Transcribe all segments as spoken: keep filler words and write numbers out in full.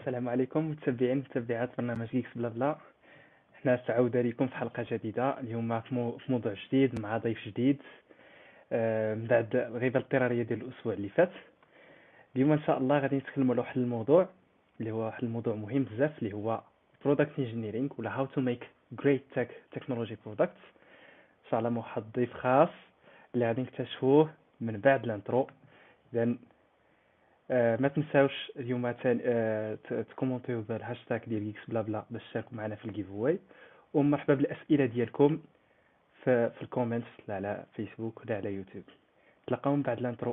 السلام عليكم متابعين متابعات برنامج جيكس بلا بلا. احنا سعودة لكم في حلقة جديدة اليوم في مو- في موضوع جديد مع ضيف جديد. آه، من بعد الغيبة الاضطرارية ديال الأسبوع اللي فات. اليوم إن شاء الله غادي نتكلموا على واحد الموضوع اللي هو واحد الموضوع مهم بزاف اللي هو Product Engineering ولا How to make great tech technology products. إن شاء الله مع واحد ضيف خاص اللي غادي نكتشفوه من بعد الانترو. إذا آه، ما تنساوش اليوم تاني آه، ت- تكومونتيو بالهاشتاغ ديال جيكس بلا بلا باش تشاركوا معنا في الجيف واي. ومرحبا بالاسئله ديالكم في في الكومنتس لا على فيسبوك ولا على يوتيوب. تلقاو من بعد الانترو.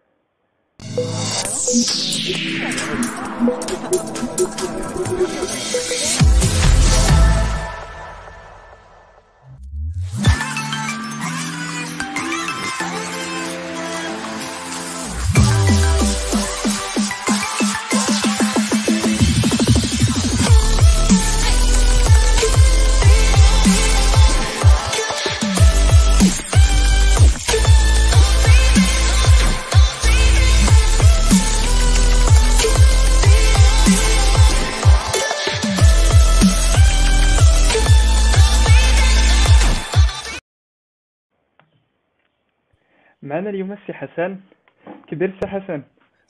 معنا اليوم السي حسن. كي داير السي حسن؟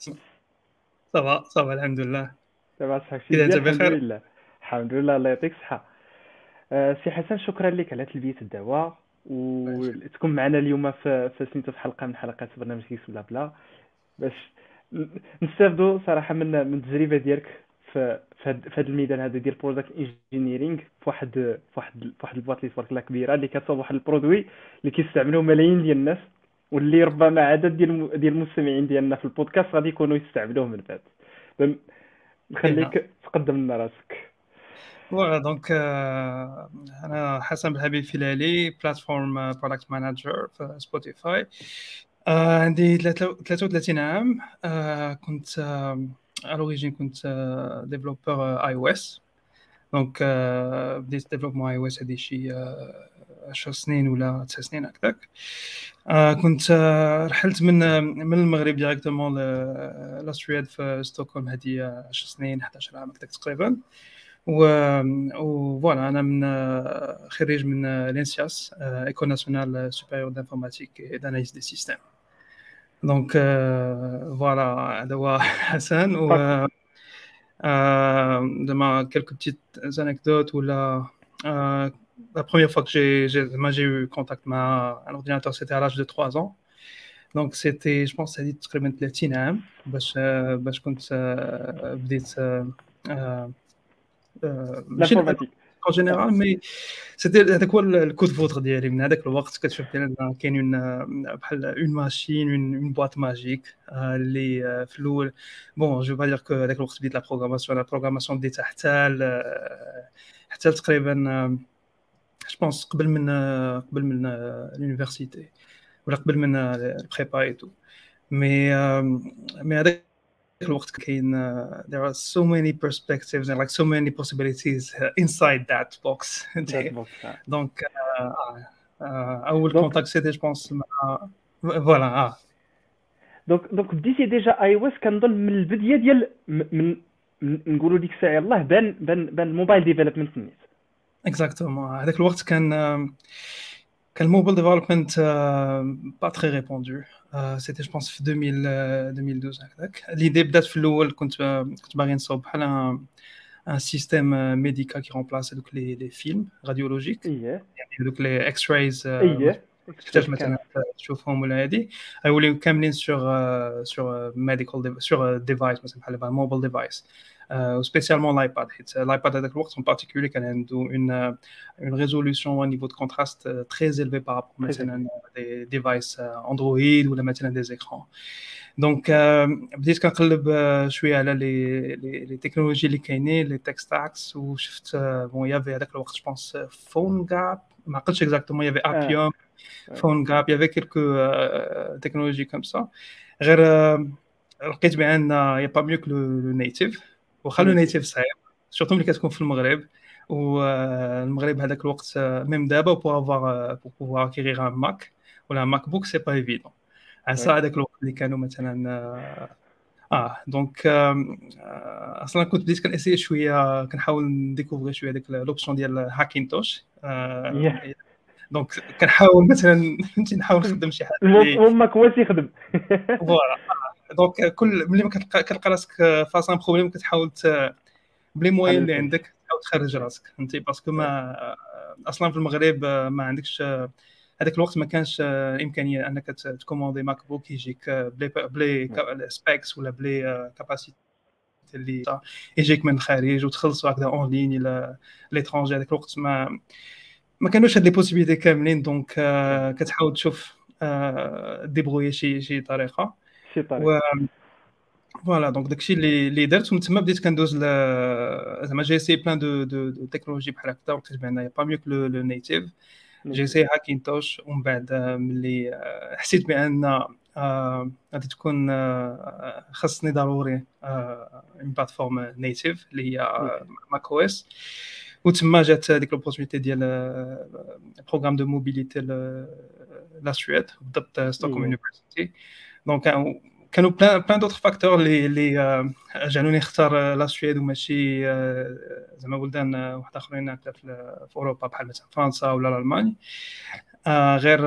صافا صافا الحمد لله. دابا صحاك شي إذا أنت مزيان؟ الحمد بخير. لله. الحمد لله الله يعطيك الصحه. آه، سي حسن شكرا لك على تلبيه الدعوه وتكون معنا اليوم في في سميتو في حلقه من حلقات برنامج كيس بلا بلا باش ن- نستافدوا صراحه من من التجربه ديالك في في هاد في هاد الميدان هذا ديال برودكت انجينيرينغ في واحد في واحد في واحد البواط اللي تبارك الله كبيره اللي كتصاوب واحد البرودوي اللي كيستعملوه ملايين ديال الناس واللي ربما عدد ديال الم- ديال المستمعين ديالنا في البودكاست غادي يكونوا يستعملوه من بعد. إذن نخليك تقدم لنا راسك. فوالا دونك آه، أنا حسن بالحبيب فيلالي بلاتفورم برودكت مانجر في سبوتيفاي. آه، عندي ثلاثة وثلاثين عام. آه، كنت آه، على الأوريجين كنت ديفلوبر اي او اس. دونك آه، بديت ديفلوبمون اي او اس هذه شي آه، عشر سنين ولا تسع سنين هكذاك. آه، كنت آه، رحلت من آه، من المغرب ديريكتومون لاسترياد في ستوكهولم هذه آه، عشر سنين إحدى عشر عام هكذاك تقريبا. و وفوالا انا من آه، خريج من آه، لينسياس ايكول ناسيونال سوبيريور دانفورماتيك اي داناليز دي سيستيم. دونك آه، فوالا هذا هو حسن. و باك. euh, de ma quelques petites anecdotes où la, euh, la première fois que j'ai, j'ai, moi, j'ai eu contact avec un ordinateur, c'était à l'âge de trois ans. Donc, c'était, je pense, c'est تقريبا ثلاثين عام باش آه، باش كنت آه، بديت آه، آه، آه، ماشي لانفورماتيك. en général مي سيتي هذاك هو الكود فوتر ديالي. من هذاك الوقت كتشوف بان كاين اون بحال اون ماشين اون بواط ماجيك اللي آه، في الاول بون جو با دير كو هذاك الوقت بديت لا بروغراماسيون لا بروغراماسيون بديتها حتى ل- حتى تقريبا جو بونس قبل من آه، قبل من لونيفرسيتي ولا قبل من البريبا اي تو. مي آه، مي هذاك الوقت كاين uh, there are so many perspectives and like so many possibilities uh, inside that box. ذات بوكس. دونك آه، آه، اول دونك كونتاكت سيتي جو بونس مع فوالا اه دونك دونك بديتي ديجا اي او اس كنظن من البدايه ديال م- من من- نقولوا ديك الساعه يلاه بان بان بان الموبايل ديفلوبمنت نيت. اكزاكتومون. هذاك الوقت كان آم، كان الموبايل ديفلوبمنت با تري ريبوندو. سيتي جو بونس في ألفين اثني عشر هكذاك. ليدي بدات في الاول كنت آه، كنت باغي نصوب بحال ان سيستيم ميديكال كي رومبلاس هذوك لي لي فيلم راديولوجيك، اييه يعني هذوك لي اكس رايز اييه تحتاج مثلا تشوفهم ولا هذه يوليو كاملين سور سور ميديكال سور ديفايس مثلا بحال موبايل ديفايس وسبيسيالمون لايباد. حيت لايباد هذاك الوقت en particulier كان عنده اون اون ريزولوشن au niveau de contraste très élevé par rapport مثلا des devices اندرويد ولا مثلا des écrans. دونك بديت كنقلب شويه على لي لي تكنولوجي اللي كاينين لي تك ستاكس وشفت بون يافي هذاك الوقت جو بونس فون غاب ما عقلتش اكزاكتومون يافي ابيوم فون غاب يافي كيلكو تكنولوجي كوم سا. غير لقيت بان يا با ميو كو لو نيتيف واخا لو نيتيف صعيب سورتو ملي كتكون في المغرب. والمغرب هذاك الوقت ميم دابا بو افوار بو بوفوار اكيغير ان ماك ولا ماك بوك سي با ايفيدون. عسى هذاك الوقت اللي كانوا مثلا اه دونك اصلا كنت بديت كنسيي شويه كنحاول نديكوفري شويه ديك لوبسيون ديال هاكينتوش. ياه دونك كنحاول مثلا فهمتي نحاول نخدم شي حاجه اللي امك هو تيخدم. فوالا. دونك كل ملي ما كتلقى كتلقى راسك فاس ان بروبليم كتحاول بلي موين اللي عندك تحاول تخرج راسك فهمتي باسكو ما اصلا في المغرب ما عندكش هذاك الوقت ما كانش الامكانيه انك تكوموندي ماك بوك يجيك بلي بلي سبيكس ولا بلي كاباسيتي اللي يجيك من الخارج وتخلصوا هكذا اون لين الى ليترونجي. هذاك الوقت ما ما كانوش هاد لي بوسيبيليتي كاملين دونك كتحاول تشوف ديبروي شي شي طريقه شي طريقه. فوالا. دونك داكشي اللي اللي درت ومن تما بديت كندوز زعما جي سي بلان دو دو دو تكنولوجي بحال هكا ولقيت بان با ميو كو لو نيتيف. جي سي هاكينتوش ومن بعد ملي حسيت بان غادي تكون خاصني ضروري اون بلاتفورم نيتيف اللي هي ماك او اس. وتما جات هذيك لوبورتونيتي ديال بروغرام دو موبيليتي لا سويد بالضبط ستوكهولم يونيفرسيتي. دونك كانوا بلان بلان دوطخ فاكتور اللي اللي جعلوني نختار لا سويد وماشي زعما بلدان واحد اخرين في في اوروبا بحال مثلا فرنسا ولا الالمان. آه غير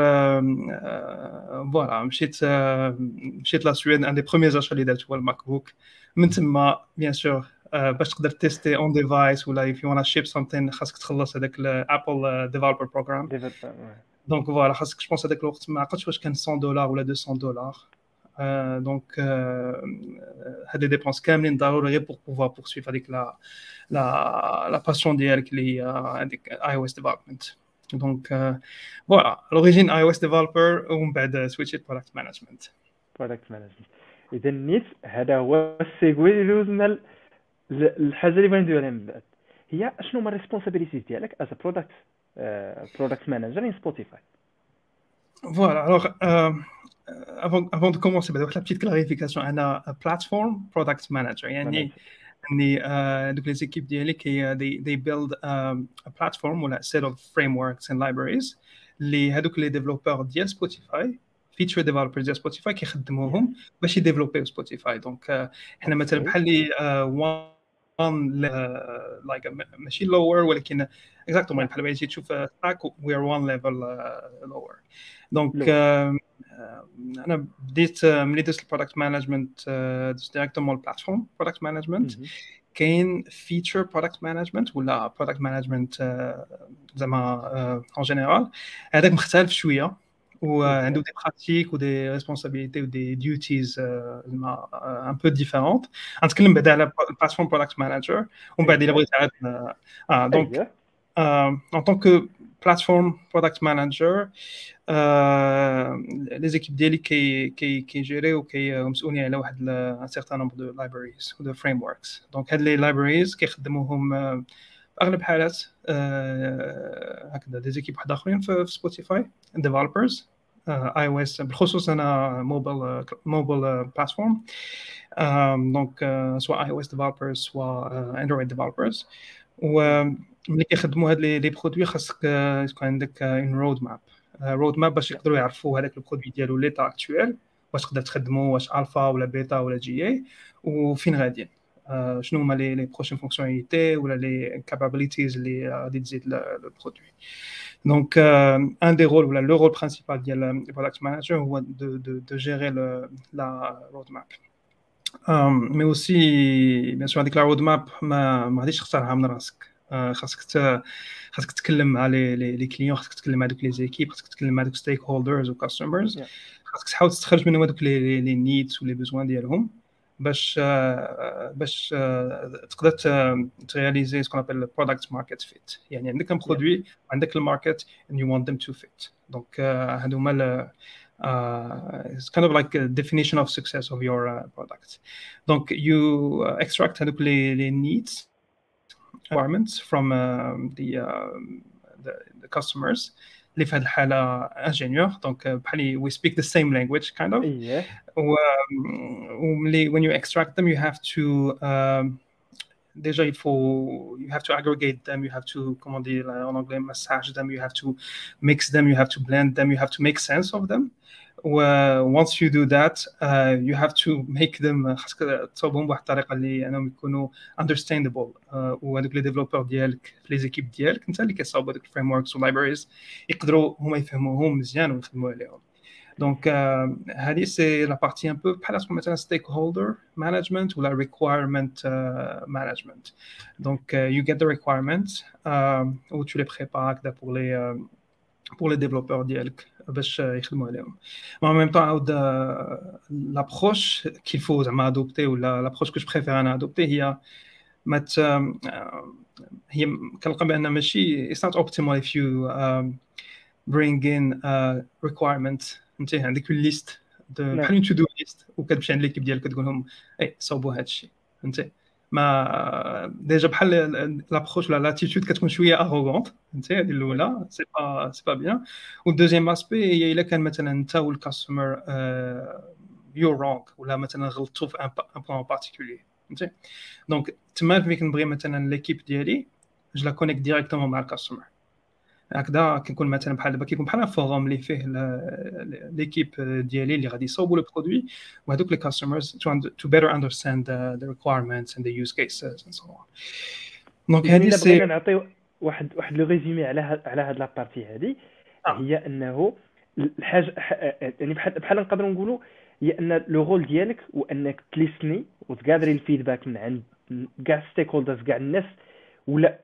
فوالا مشيت مشيت لا سويد. ان دي بروميير اشا اللي درت هو الماك بوك. من تما بيان سور باش تقدر تيستي اون ديفايس ولا if you wanna ship something خاصك تخلص هذاك الابل ديفلوبر بروغرام. دونك فوالا خاصك جو بونس هذاك الوقت ما عقلتش واش كان مية دولار ولا مئتين دولار. دونك هاد لي ديبونس كاملين ضروري غير بور بوفوار بورسويف هذيك لا لا لا باسيون ديالك اللي هي هذيك اي او اس ديفلوبمنت. دونك فوالا لوريجين اي او اس ديفلوبر ومن بعد سويتشيت برودكت مانجمنت. برودكت مانجمنت اذا نيت هذا هو السيغوي اللي دوزنا الحاجه اللي بغينا نديرها من بعد هي شنو هما الريسبونسابيلتيز ديالك از برودكت برودكت مانجر ان سبوتيفاي. فوالا الوغ avant avant de commencer بعد واحد لا بتيت كلاريفيكاسيون. انا بلاتفورم برودكت مانجر يعني يعني دوك لي زيكيب ديالي كي they they build a platform ولا set of frameworks and libraries اللي هذوك لي ديفلوبر ديال سبوتيفاي فيتشر ديفلوبرز ديال سبوتيفاي كيخدموهم باش يديفلوبيو سبوتيفاي. دونك حنا مثلا بحال لي وان لايك ماشي لور ولكن اكزاكتومون بحال بغيتي تشوف تراك وي ار وان ليفل لور. دونك انا بديت ملي درت البرودكت مانجمنت درت ديريكتومون البلاتفورم برودكت مانجمنت. كاين فيتشر برودكت مانجمنت ولا برودكت مانجمنت زعما اون جينيرال هذاك مختلف شويه وعنده دي براتيك ودي ريسبونسابيلتي ودي ديوتيز زعما ان بو ديفيرونت. غنتكلم بعدا على البلاتفورم برودكت مانجر ومن بعد الا بغيت عاد اه دونك en tant que plateforme product manager les équipes ديالي كي كي كيجيريو وكي مسؤولين على واحد un certain nombre de libraries ou de frameworks. دونك هاد لي libraries كيخدموهم اغلب الحالات هكذا دي زيكيب واحد اخرين في سبوتيفاي developers اي او اس بالخصوص انا موبايل موبايل بلاتفورم. دونك سواء اي او اس ديفلوبرز سواء اندرويد ديفلوبرز. وملي كيخدموا هاد لي برودوي خاصك تكون عندك ان رود ماب رود ماب باش يقدروا يعرفوا هذاك البرودوي ديالو ليتا اكطويل واش تقدر تخدموا واش الفا ولا بيتا ولا جي اي وفين غاديين شنو هما لي لي بروشين فونكسيوناليتي ولا لي كابابيليتيز اللي غادي تزيد لو برودوي. دونك ان دي رول ولا لو رول برينسيبال ديال البرودكت مانجر هو دو دو دو جيري لا رود ماب. مي اوسي بيان سور هذيك لا رود ماب ما ما غاديش تختارها من راسك. خاصك خاصك تتكلم مع لي لي كليون خاصك تتكلم مع دوك لي زيكيب خاصك تتكلم مع دوك ستيك هولدرز وكاستمرز. خاصك تحاول تستخرج منهم هذوك لي لي نيدز ولي بوزوان ديالهم باش باش تقدر ترياليزي سكون ابل برودكت ماركت فيت. يعني عندك ان برودوي عندك الماركت and you want them to fit. دونك هادو هما Uh, it's kind of like a definition of success of your uh, product. Donc you uh, extract هذوك les, les needs requirements from uh, the, uh, the the customers اللي في هذه الحالة ingénieur. Donc بحال we speak the same language kind of. Yeah. و when you extract them you have to um, déjà il faut you have to aggregate them, you have to comment dire en anglais massage them, you have to mix them, you have to blend them, you have to make sense of them. و once you do that uh, you have to make them خاصك تصاوبهم بواحد الطريقه اللي انهم يكونوا understandable uh, وهذوك لي ديفلوبور ديالك في لي زيكيب ديالك انت اللي كتصاوب هذوك الفريم وركس واللايبريز يقدروا هما يفهموهم مزيان ويخدموا عليهم. دونك uh, هذه سي لا بارتي ان بو بحال تكون مثلا ستيك هولدر مانجمنت ولا ريكوايرمنت مانجمنت. دونك you get the requirements uh, و tu les prépares هكذا pour les uh, pour les développeurs ديالك باش يخدموا عليهم. Mais en même temps عاود l'approche qu'il faut زعما adopter ولا l'approche que je préfère انا adopter هي ما ت... هي كنلقى بان ماشي it's not optimal if you um, bring in a requirement. انت عندك ليست بحال une to do list وكتمشي عند ليكيب ديالك كتقول لهم اي صوبوا هذا الشيء. انت ما ديجا بحال لابروش ولا لاتيتود كتكون شويه اغوغونت. انت هذه الاولى سي با سي با بيان. والدوزيام اسبي هي الا كان مثلا انت والكاستمر يو رونغ ولا مثلا غلطتوا في ان بوين بارتيكولي. انت دونك تما ملي كنبغي مثلا ليكيب ديالي جو لا كونيكت ديريكتومون مع الكاستمر هكذا كنكون مثلا بحال دابا كيكون بحال فوروم اللي فيه ليكيب ديالي اللي غادي يصاوبوا لو برودوي وهذوك لي كاستمرز to better understand the, the requirements and the use cases and so on. دونك هذه الا سي بغينا نعطيو واحد واحد لو ريزومي على هاد على هاد لابارتي هذه هي انه الحاجه يعني بحال بحال نقدروا نقولوا هي ان لو رول ديالك هو انك تليسني وتقادري الفيدباك من عند كاع ستيك هولدرز كاع الناس ولا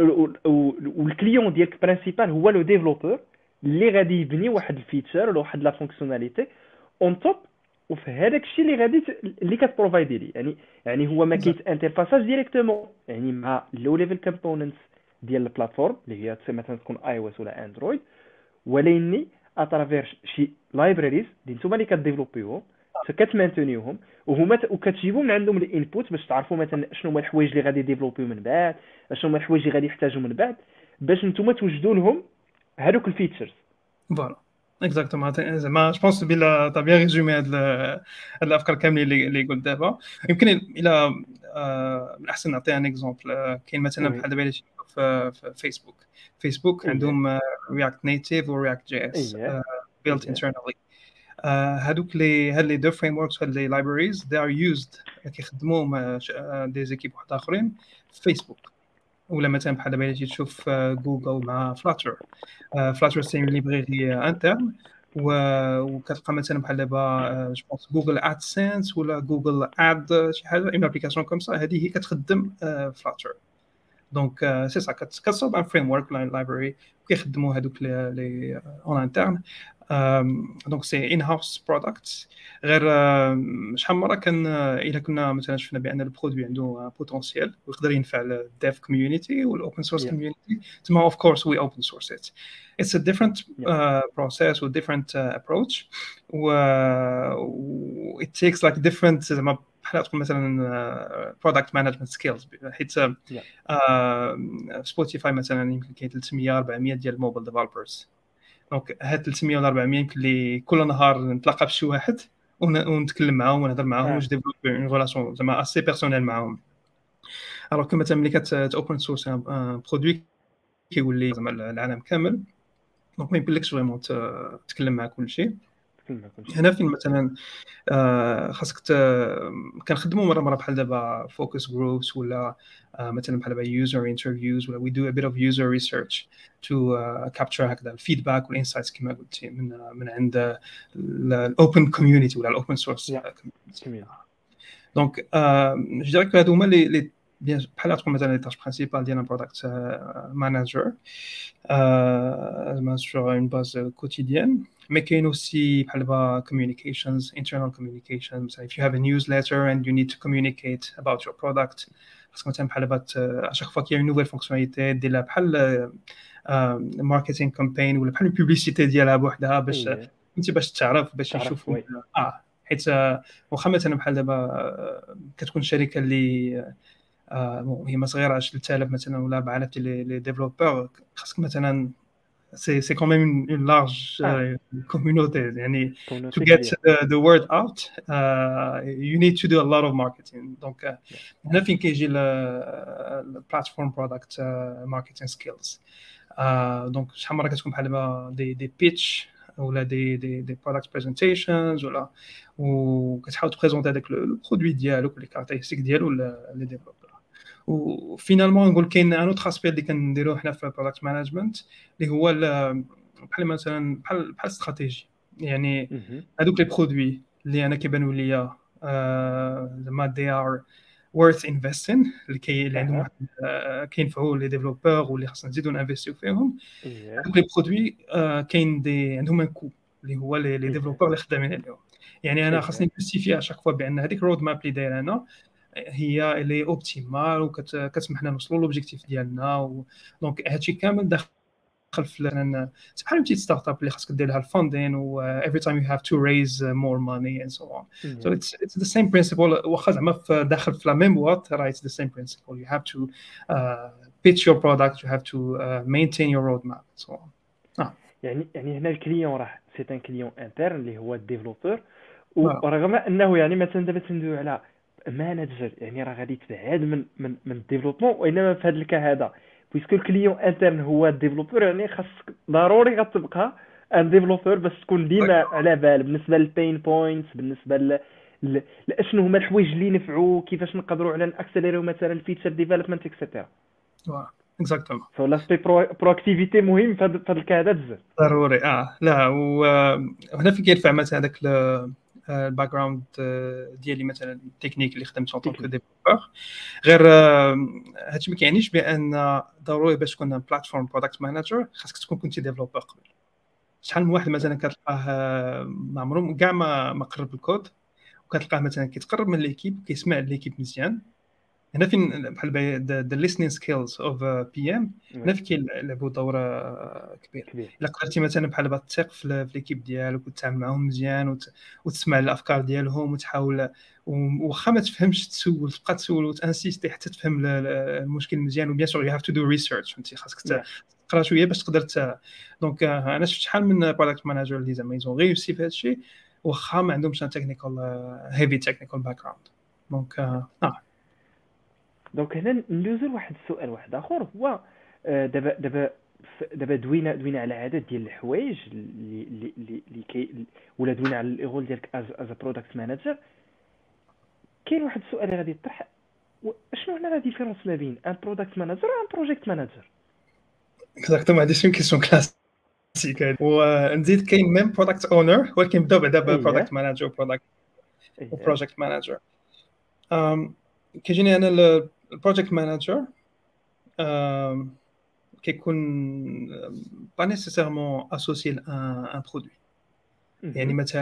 والكليون ديالك برينسيبال هو لو ديفلوبور اللي غادي يبني واحد الفيتشر ولا واحد لا فونكسيوناليتي اون توب وفي هذاك الشيء اللي غادي اللي كتبروفايدي لي يعني يعني هو ما كيت انترفاساج ديريكتومون يعني مع لو ليفل كومبوننتس ديال البلاتفورم اللي هي مثلا تكون اي او اس ولا اندرويد وليني اترافير شي لايبراريز اللي نتوما اللي كديفلوبيوهم كتمانتونيوهم وهما وكتجيبوا من عندهم الانبوت باش تعرفوا مثلا شنو هما الحوايج اللي غادي يديفلوبيو من بعد شنو هما الحوايج اللي غادي يحتاجوا من بعد باش نتوما توجدوا لهم هذوك الفيتشرز. فوالا اكزاكتومون زعما جو بونس بلا تا بيان ريزومي هاد هاد الافكار كاملين اللي اللي قلت دابا. يمكن الى من الاحسن نعطي ان اكزومبل. كاين مثلا بحال دابا في فيسبوك فيسبوك عندهم رياكت نيتيف ورياكت جي اس built internally. هادوك لي هاد لي دو فريم وركس هاد لي لايبراريز they are used كيخدموهم دي زيكيب واحد اخرين في فيسبوك. ولا مثلا بحال دابا اللي تشوف جوجل مع فلاتر فلاتر سي ليبراري انترن وكتلقى مثلا بحال دابا جو بونس جوجل ادسنس ولا جوجل اد شي حاجه اون ابليكاسيون كوم سا هذه هي كتخدم فلاتر. دونك سي سا كتصاوب ان فريم ورك لايبراري كيخدموا هذوك لي اون انترن. دونك سي ان هاوس برودكت. غير شحال من مره كان الا كنا مثلا شفنا بان البرودوي عنده بوتونسيال ويقدر ينفع الديف كوميونيتي والاوبن سورس كوميونيتي تما اوف كورس وي اوبن سورس ات. اتس ا ديفرنت بروسيس و ديفرنت ابروتش و ات تيكس لايك ديفرنت زعما بحال تكون مثلا برودكت مانجمنت سكيلز حيت سبوتيفاي مثلا يمكن كاين ثلاثمية أربعمية ديال الموبايل ديفلوبرز. دونك هاد ثلاثمية ولا أربعمية يمكن لي كل نهار نتلاقى بشي واحد ونتكلم معاهم ونهضر معاهم واش ديفلوب اون ريلاسيون زعما اسي بيرسونيل معاهم. الوغ كو مثلا ملي كت اوبن سورس ان برودوي كيولي زعما العالم كامل دونك ما يمكنلكش فريمون تتكلم مع كلشي. هنا فين مثلا خاصك كنخدموا مره مره بحال دابا فوكس جروبس ولا مثلا بحال دابا يوزر انترفيوز ولا وي دو ا بيت اوف يوزر ريسيرش تو كابتشر هكذا الفيدباك والانسايتس كما قلتي من من عند الاوبن كوميونيتي ولا الاوبن سورس كوميونيتي. دونك جو ديريك هادو هما لي بحال تكون مثلا لي تاش برينسيبال ديال برودكت مانجر زعما سور اون باز كوتيديان. Mais كاين aussi بحال دابا communications internal communications. If you have a newsletter and you need to communicate about your product خاصك مثلا بحال دابا اشاك فوا كاين نوفيل فونكسيوناليتي ديرها بحال ماركتينغ كامبين ولا بحال البوبليسيتي ديالها بوحدها باش انت باش تعرف باش يشوفوا اه حيت واخا مثلا بحال دابا كتكون شركه اللي آه هي ما صغيره ثلاثة آلاف مثلا ولا أربعة آلاف ديال لي ديفلوبور خاصك مثلا c'est c'est quand même une, une large ah. euh, communauté يعني to get the, the word out uh, you need to do a lot of marketing. donc هنا فين كيجي ال platform product uh, marketing skills. donc شحال مره كتكون بحال دابا دي دي pitch ولا دي دي دي برودكت بريزنتيشنز ولا وكتحاول تبريزونتي هذاك لو برودوي ديالك لي كاركتيرستيك ديالو لي ديفلوبر. وفينالمون نقول كاين ان اوتر اسبيل اللي كنديروه حنا في برودكت مانجمنت اللي هو بحال مثلا بحال بحال استراتيجي. يعني هذوك لي برودوي اللي انا كيبانوا ليا زعما دي ار worth investing اللي كي اللي عندهم كينفعوا لي ديفلوبور واللي خاصنا نزيدو نانفيستيو فيهم. هذوك لي برودوي كاين دي عندهم ان كو اللي هو لي ديفلوبور اللي خدامين عليهم. يعني انا خاصني نجوستيفي اشاك فوا بان هذيك الرود ماب اللي داير انا هي اللي اوبتيمال وكتسمح لنا نوصلوا لوبجيكتيف ديالنا. دونك هادشي كامل داخل في مثلا بحال بتيت ستارت اب اللي خاصك دير لها الفاندين و every time you have to raise more money and so on. Mm-hmm. So it's it's the same principle. واخا زعما في داخل في لا ميم بواط راه it's the same principle. You have to uh, pitch your product, you have to uh, maintain your roadmap and so on. آه. يعني يعني هنا الكليون راه سي ان كليون انترن اللي هو الديفلوبر ورغم انه يعني مثلا دابا تندوي على مانجر يعني راه غادي تبعد من من من الديفلوبمون. وانما في هذا الكا هذا بويسكو الكليون انترن هو الديفلوبر يعني خاصك ضروري غتبقى ان ديفلوبر باش تكون ديما على بال بالنسبه للبين بوينتس بالنسبه ل لاشنو هما الحوايج اللي نفعوا كيفاش نقدروا على ناكسليريو مثلا الفيتشر ديفلوبمنت اكسيتيرا. واه اكزاكتومون. سو لاسبي برو اكتيفيتي مهم في هذا الكا هذا بزاف ضروري. اه لا وهنا في كيرفع مثلا هذاك الباك جراوند ديالي مثلا التكنيك اللي خدمت اون طونك ديفلوبر. غير هادشي ما كيعنيش بان ضروري باش تكون بلاتفورم برودكت مانجر خاصك تكون كنتي ديفلوبر قبل. شحال من واحد مثلا كتلقاه ما عمرو كاع ما ما قرب الكود وكتلقاه مثلا كيتقرب من ليكيب كيسمع ليكيب مزيان. هنا فين بحال ذا listening skills of بي ام هنا فين كيلعبوا دور كبير. الا قدرتي مثلا بحال با تثق في ليكيب ديالك وتتعامل معاهم مزيان وتسمع الافكار ديالهم وتحاول واخا ما تفهمش تسول تبقى تسول وتانسيستي حتى تفهم المشكل مزيان. وبيان سور يو هاف تو دو ريسيرش فهمتي خاصك تقرا شويه باش تقدر. دونك انا شفت شحال من برودكت مانجر اللي زعما يزون ريوسي في هذا الشيء واخا ما عندهمش تكنيكال هيفي تكنيكال باك جراوند. دونك اه دونك هنا ندوزو لواحد السؤال واحد اخر هو دابا دابا دابا دوينا دوينا على عدد ديال الحوايج اللي اللي اللي كي ولا دوينا على الرول ديالك از از برودكت مانجر. كاين واحد السؤال اللي غادي يطرح شنو هنا لا ديفيرونس ما بين ان برودكت مانجر وان بروجيكت مانجر؟ اكزاكتومون هذه شي كيسيون كلاسيك. ونزيد كاين ميم برودكت اونر ولكن بدا بعدا برودكت مانجر برودكت وبروجيكت مانجر. كيجيني انا البروجيكت مانجر كيكون با نيسيسيرمون اسوسيي لان برودوي. يعني مثلا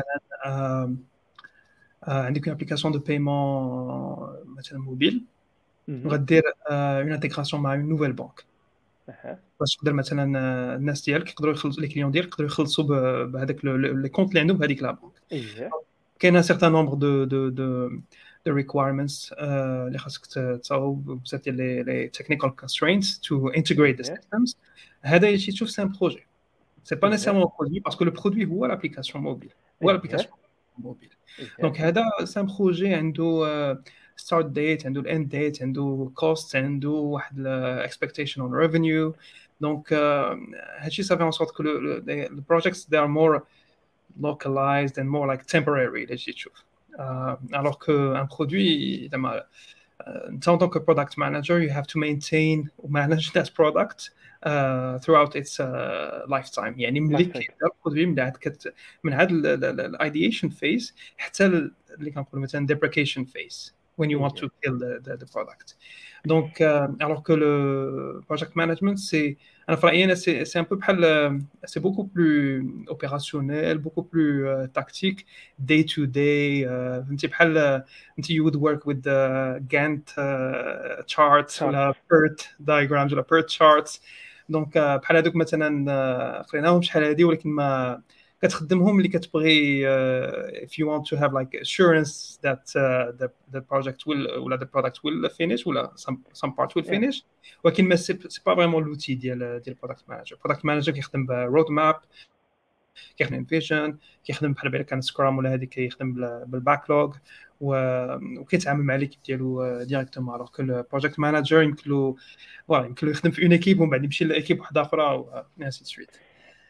عندك ابليكاسيون دو بايمون مثلا موبيل وغدير اون انتيغراسيون مع اون نوفيل بانك باش تقدر مثلا الناس ديالك يقدروا يخلصوا لي كليون ديالك يقدروا يخلصوا بهذاك لي كونط اللي عندهم بهذيك لا بانك. كاين ان سيغتان نومبر دو دو دو the requirements اللي خاصك تصاوب بزاف ديال لي technical constraints to integrate the systems. هذا يجي تشوف سي ان بروجي سي با نيسيرمون برودوي باسكو لو برودوي هو لابليكاسيون موبيل هو لابليكاسيون موبيل. دونك هذا سي ان بروجي عنده ستارت ديت عنده الاند ديت عنده كوست عنده واحد الاكسبكتيشن اون ريفينيو. دونك هادشي صافي ان سورت كو the projects they are more localized and more like temporary اللي تجي تشوف. Uh, alors qu'un produit, uh, en tant que product manager, you have to maintain or manage that product uh, throughout its uh, lifetime. يعني ملي كيبدا البرودوي من بعد كت من هذا الايديشن phase حتى اللي كنقولوا مثلا deprecation phase when you want to kill the, the, the product. Donc, euh, alors que le project management, c'est un c'est, c'est un peu c'est beaucoup plus opérationnel, beaucoup plus euh, tactique, day to day. Euh, you would work with the Gantt uh, charts, ou la PERT diagrams, ou la PERT charts. Donc, بحال هذوك مثلا قريناهم شحال هذه ولكن ما كتخدمهم اللي كتبغي uh, if you want to have like assurance that uh, the the project will ولا the product will finish ولا some some part will finish. ولكن ما سي با فريمون لوتي ديال ديال product manager. product manager كيخدم برود ماب كيخدم فيجن كيخدم بحال بحال كان سكرام ولا هذيك كيخدم بالباكلوغ وكيتعامل مع ليكيب ديالو ديريكتومون. alors que le project manager يمكن له فوالا يمكن له يخدم في اون ايكيب ومن بعد يمشي لايكيب واحده اخرى و ainsi de suite.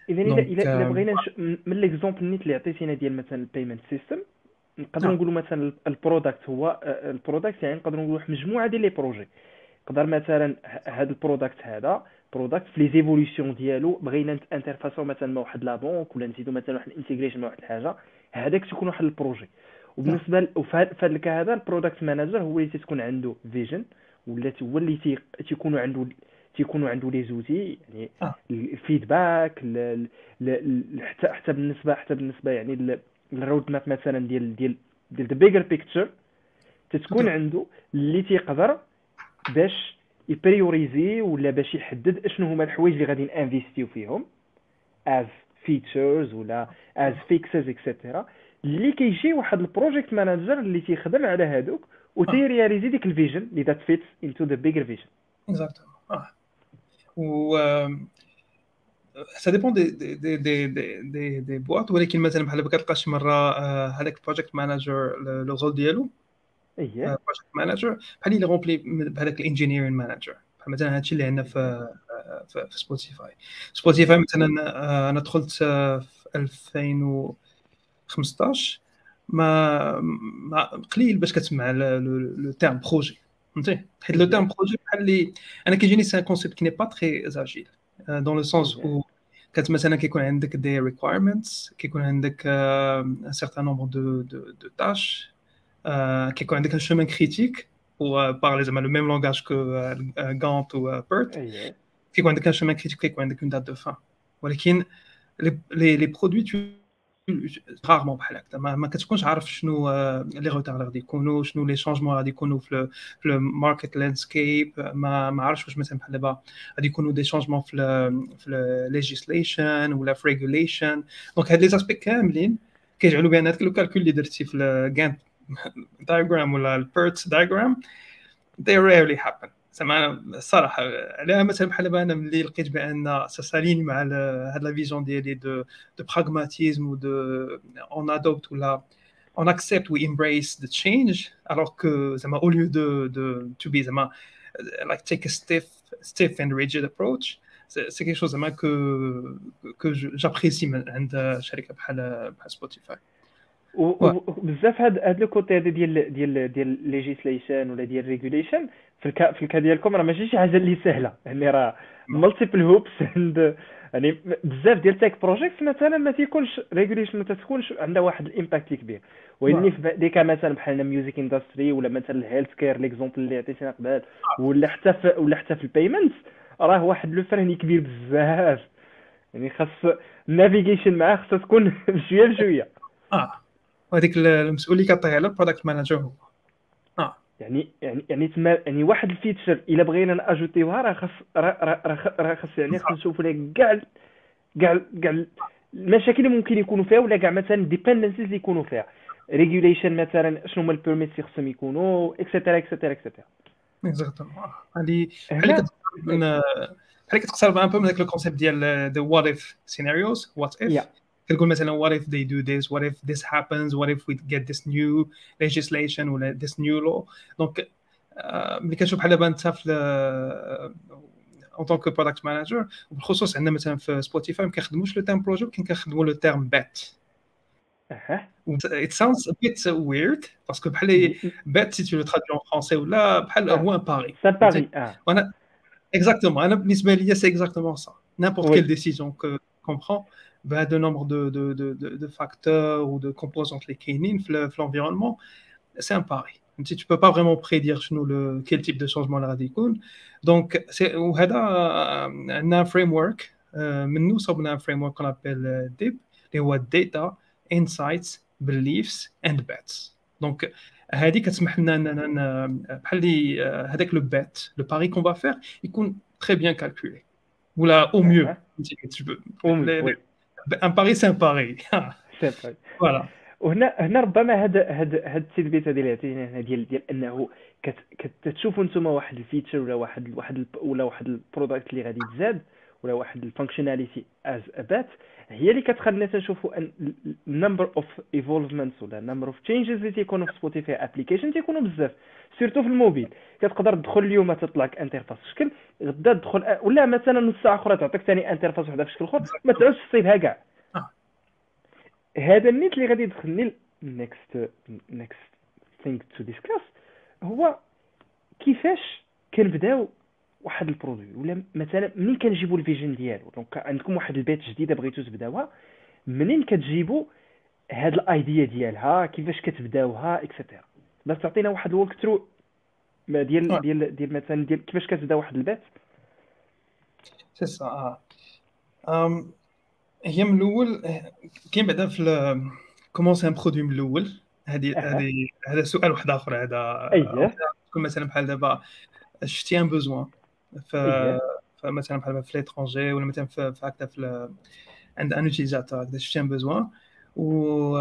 اذا الا دونك الا إلا بغينا نش... من من ليكزومبل نيت اللي عطيتينا ديال مثلا البيمنت سيستم، نقدروا نعم نقولوا مثلا البرودكت هو البرودكت، يعني نقدروا نقولوا واحد مجموعه ديال لي بروجي. نقدر مثلا هذا البرودكت هذا برودكت في لي زيفوليوشن ديالو بغينا انترفاسو مثلا مع واحد لا بونك، ولا نزيدوا مثلا واحد الانتيغريشن مع واحد الحاجه، هذاك تكون واحد البروجي. نعم وبالنسبه ل... وفي هذا الكا هذا البرودكت مانجر هو اللي تكون عنده فيجن، ولا هو اللي تي... تيكونوا عنده تيكونوا عنده لي زوتي، يعني اه الفيدباك ل... ل... ل... حتى حتى بالنسبه حتى بالنسبه يعني ل... الرود ماب مثلا ديال ديال ديال ذا بيجر بيكتشر، تتكون عنده اللي تيقدر باش يبريوريزي ولا باش يحدد اشنو هما الحوايج اللي غادي نانفيستيو فيهم از فيتشرز ولا از فيكسز اكسيتيرا، اللي كيجي واحد البروجيكت مانجر اللي تيخدم على هادوك اه وتيرياليزي ديك الفيجن اللي ذات فيتس انتو ذا بيجر فيجن. اكزاكتومون. اه و ça dépend des des des des des des des boîtes. ولكن مثلا بحال ما كتلقاش شي مره آه، هذاك البروجيكت مانجر لو رول ديالو اييه بروجيكت مانجر بحال اللي غومبلي بهذاك الانجينيرين مانجر. بحال مثلا هادشي اللي عندنا في آه، في في سبوتيفاي. سبوتيفاي مثلا آه، انا دخلت آه، في ألفين وخمسطاش. ما ما قليل باش كتسمع لو تيرم بروجي، فهمتي؟ حيت لو تيرم اييه بروجي بحال اللي انا كيجيني سي ان كونسيبت كي ني با تري اجيل، دون لو سونس اييه او كانت مثلا كيكون عندك دي ريكوايرمنتس، كيكون عندك ان سيغتان نومبر دو دو دو تاش، كيكون عندك ان شومان كريتيك و بارلي زعما لو ميم لونغاج كو غانت و بيرت. اييه كيكون عندك ان شومان كريتيك، كيكون عندك اون دات دو فان. ولكن لي لي لي برودوي رارمون بحال هكا ما, ما كتكونش عارف شنو لي روتار غادي يكونوا، شنو لي شونجمون غادي يكونوا في في الماركت لاندسكيب. ما ما عارفش واش مثلا بحال دابا غادي يكونوا دي شونجمون في في ليجيسليشن ولا في ريغوليشن. دونك هاد لي زاسبي كاملين كيجعلوا بان هذاك لو كالكول اللي درتي في الجانت دايغرام ولا البيرت دايغرام they rarely happen. زعما الصراحه على مثلا بحال دابا انا ملي لقيت بان ساسالين مع هاد لا فيجن ديالي دو دو براغماتيزم و دو اون ادوبت ولا on accept we embrace the change, alors que زعما au lieu de de to be زعما like take a stiff stiff and rigid approach. c'est c'est quelque chose زعما que que j'apprécie من عند شركه بحال بحال سبوتيفاي. وبزاف هاد هاد لو كوتي هذا ديال ديال ديال ليجيسليشن ولا ديال ريغوليشن في الكا في الكا ديالكم راه ماشي شي حاجه اللي سهله، يعني راه مالتيبل هوبس عند يعني بزاف ديال تيك بروجيكت مثلا ما تيكونش ريغوليشن، ما تكونش عندها واحد الامباكت كبير. واني في ديك مثلا بحال ميوزيك اندستري ولا مثلا الهيلث كير ليكزومبل اللي عطيتينا قبل، ولا حتى في ولا حتى في البيمنتس، راه واحد لو فرهني كبير بزاف، يعني خاص النافيغيشن معاه خاصها تكون بشويه بشويه. اه وهذيك المسؤول اللي كطيح على البرودكت مانجر هو اه يعني يعني يعني تما يعني واحد الفيتشر الا بغينا ناجوتيوها راه خاص راه راه خاص يعني خاص نشوفوا لك كاع كاع كاع المشاكل اللي ممكن يكونوا فيها، ولا كاع مثلا ديبندنسيز اللي يكونوا فيها، ريغوليشن مثلا شنو هما البيرميتس اللي خصهم يكونوا اكسيتيرا اكسيتيرا اكسيتيرا. اكزاكتومون. هذه بحال اللي هنا كتقرب من بحال اللي كتقرب ان بو من داك لو كونسيبت ديال ذا وات اف سيناريوز. وات يا اف كتقول مثلا what if they do this, what if this happens, what if we get this new legislation ولا this new law. دونك ملي كنشوف بحال دابا انت في اون طونك برودكت مانجر، وبالخصوص عندنا مثلا في سبوتيفاي ما كنخدموش لو تيرم بروجي، ولكن كنخدموا لو تيرم بات. اها it sounds a bit weird parce que بحال بات si tu le traduis en français ولا بحال هو un pari. سا باري اه وانا exactement انا بالنسبه ليا c'est exactement ça. n'importe وي quelle décision que qu'on prend بهذا nombre de de de de de facteurs ou de composantes اللي كاينين في في l'environnement, c'est un pari. Tu tu peux pas vraiment prédire شنو le quel type de changement اللي غادي يكون. donc c'est وهذا عندنا framework منو صوبنا framework qu'on appelle D I B اللي هو data insights beliefs and bets. donc هذه كتسمح لنا اننا بحال اللي هذاك لو بات لو باري كون با فير يكون très bien calculé ولا au mieux. اها tu peux وي un pari c'est un pari. سا باري. voilà. وهنا هنا ربما هاد هاد هاد التثبيت هذه اللي عطينا هنا ديال ديال انه كت كتشوفوا نتوما واحد الفيتشر ولا واحد واحد ولا واحد البرودكت اللي غادي يتزاد ولا واحد الفانكشناليتي از ابات، هي اللي كتخلينا تنشوفوا ان النمبر اوف ايفولفمنتس ولا النمبر اوف تشينجز اللي تيكونوا في سبوتيفاي ابليكيشن تيكونوا بزاف، سيرتو في الموبيل. كتقدر تدخل اليوم تطلع لك انترفاس في شكل، غدا تدخل ولا مثلا نص ساعه اخرى تعطيك ثاني انترفاس وحده في شكل اخر، ما تعاودش تصيبها كاع. آه. هذا النيت اللي غادي يدخلني next next thing to discuss هو كيفاش كنبداو واحد البرودوي، ولا مثلا منين كنجيبوا الفيجن ديالو. دونك عندكم واحد البيت جديده بغيتو تبداوها، منين كتجيبوا هاد الايديا ديالها، كيفاش كتبداوها اكسيتيرا. بس تعطينا واحد الوك ثرو ديال ديال ديال مثلا ديال كيفاش كتبدا واحد البيت. سي سا اه أم هي من الاول كاين بعدا في كومونسي ان برودوي من الاول. هذه هذه هذا سؤال واحد اخر. هذا اييه كون مثلا بحال دابا شفتي ان بوزوان ف فمثلا بحال في ليترونجي ولا مثلا في هكذا في عند ان يوتيليزاتور هكذا شفتي ان بوزوان و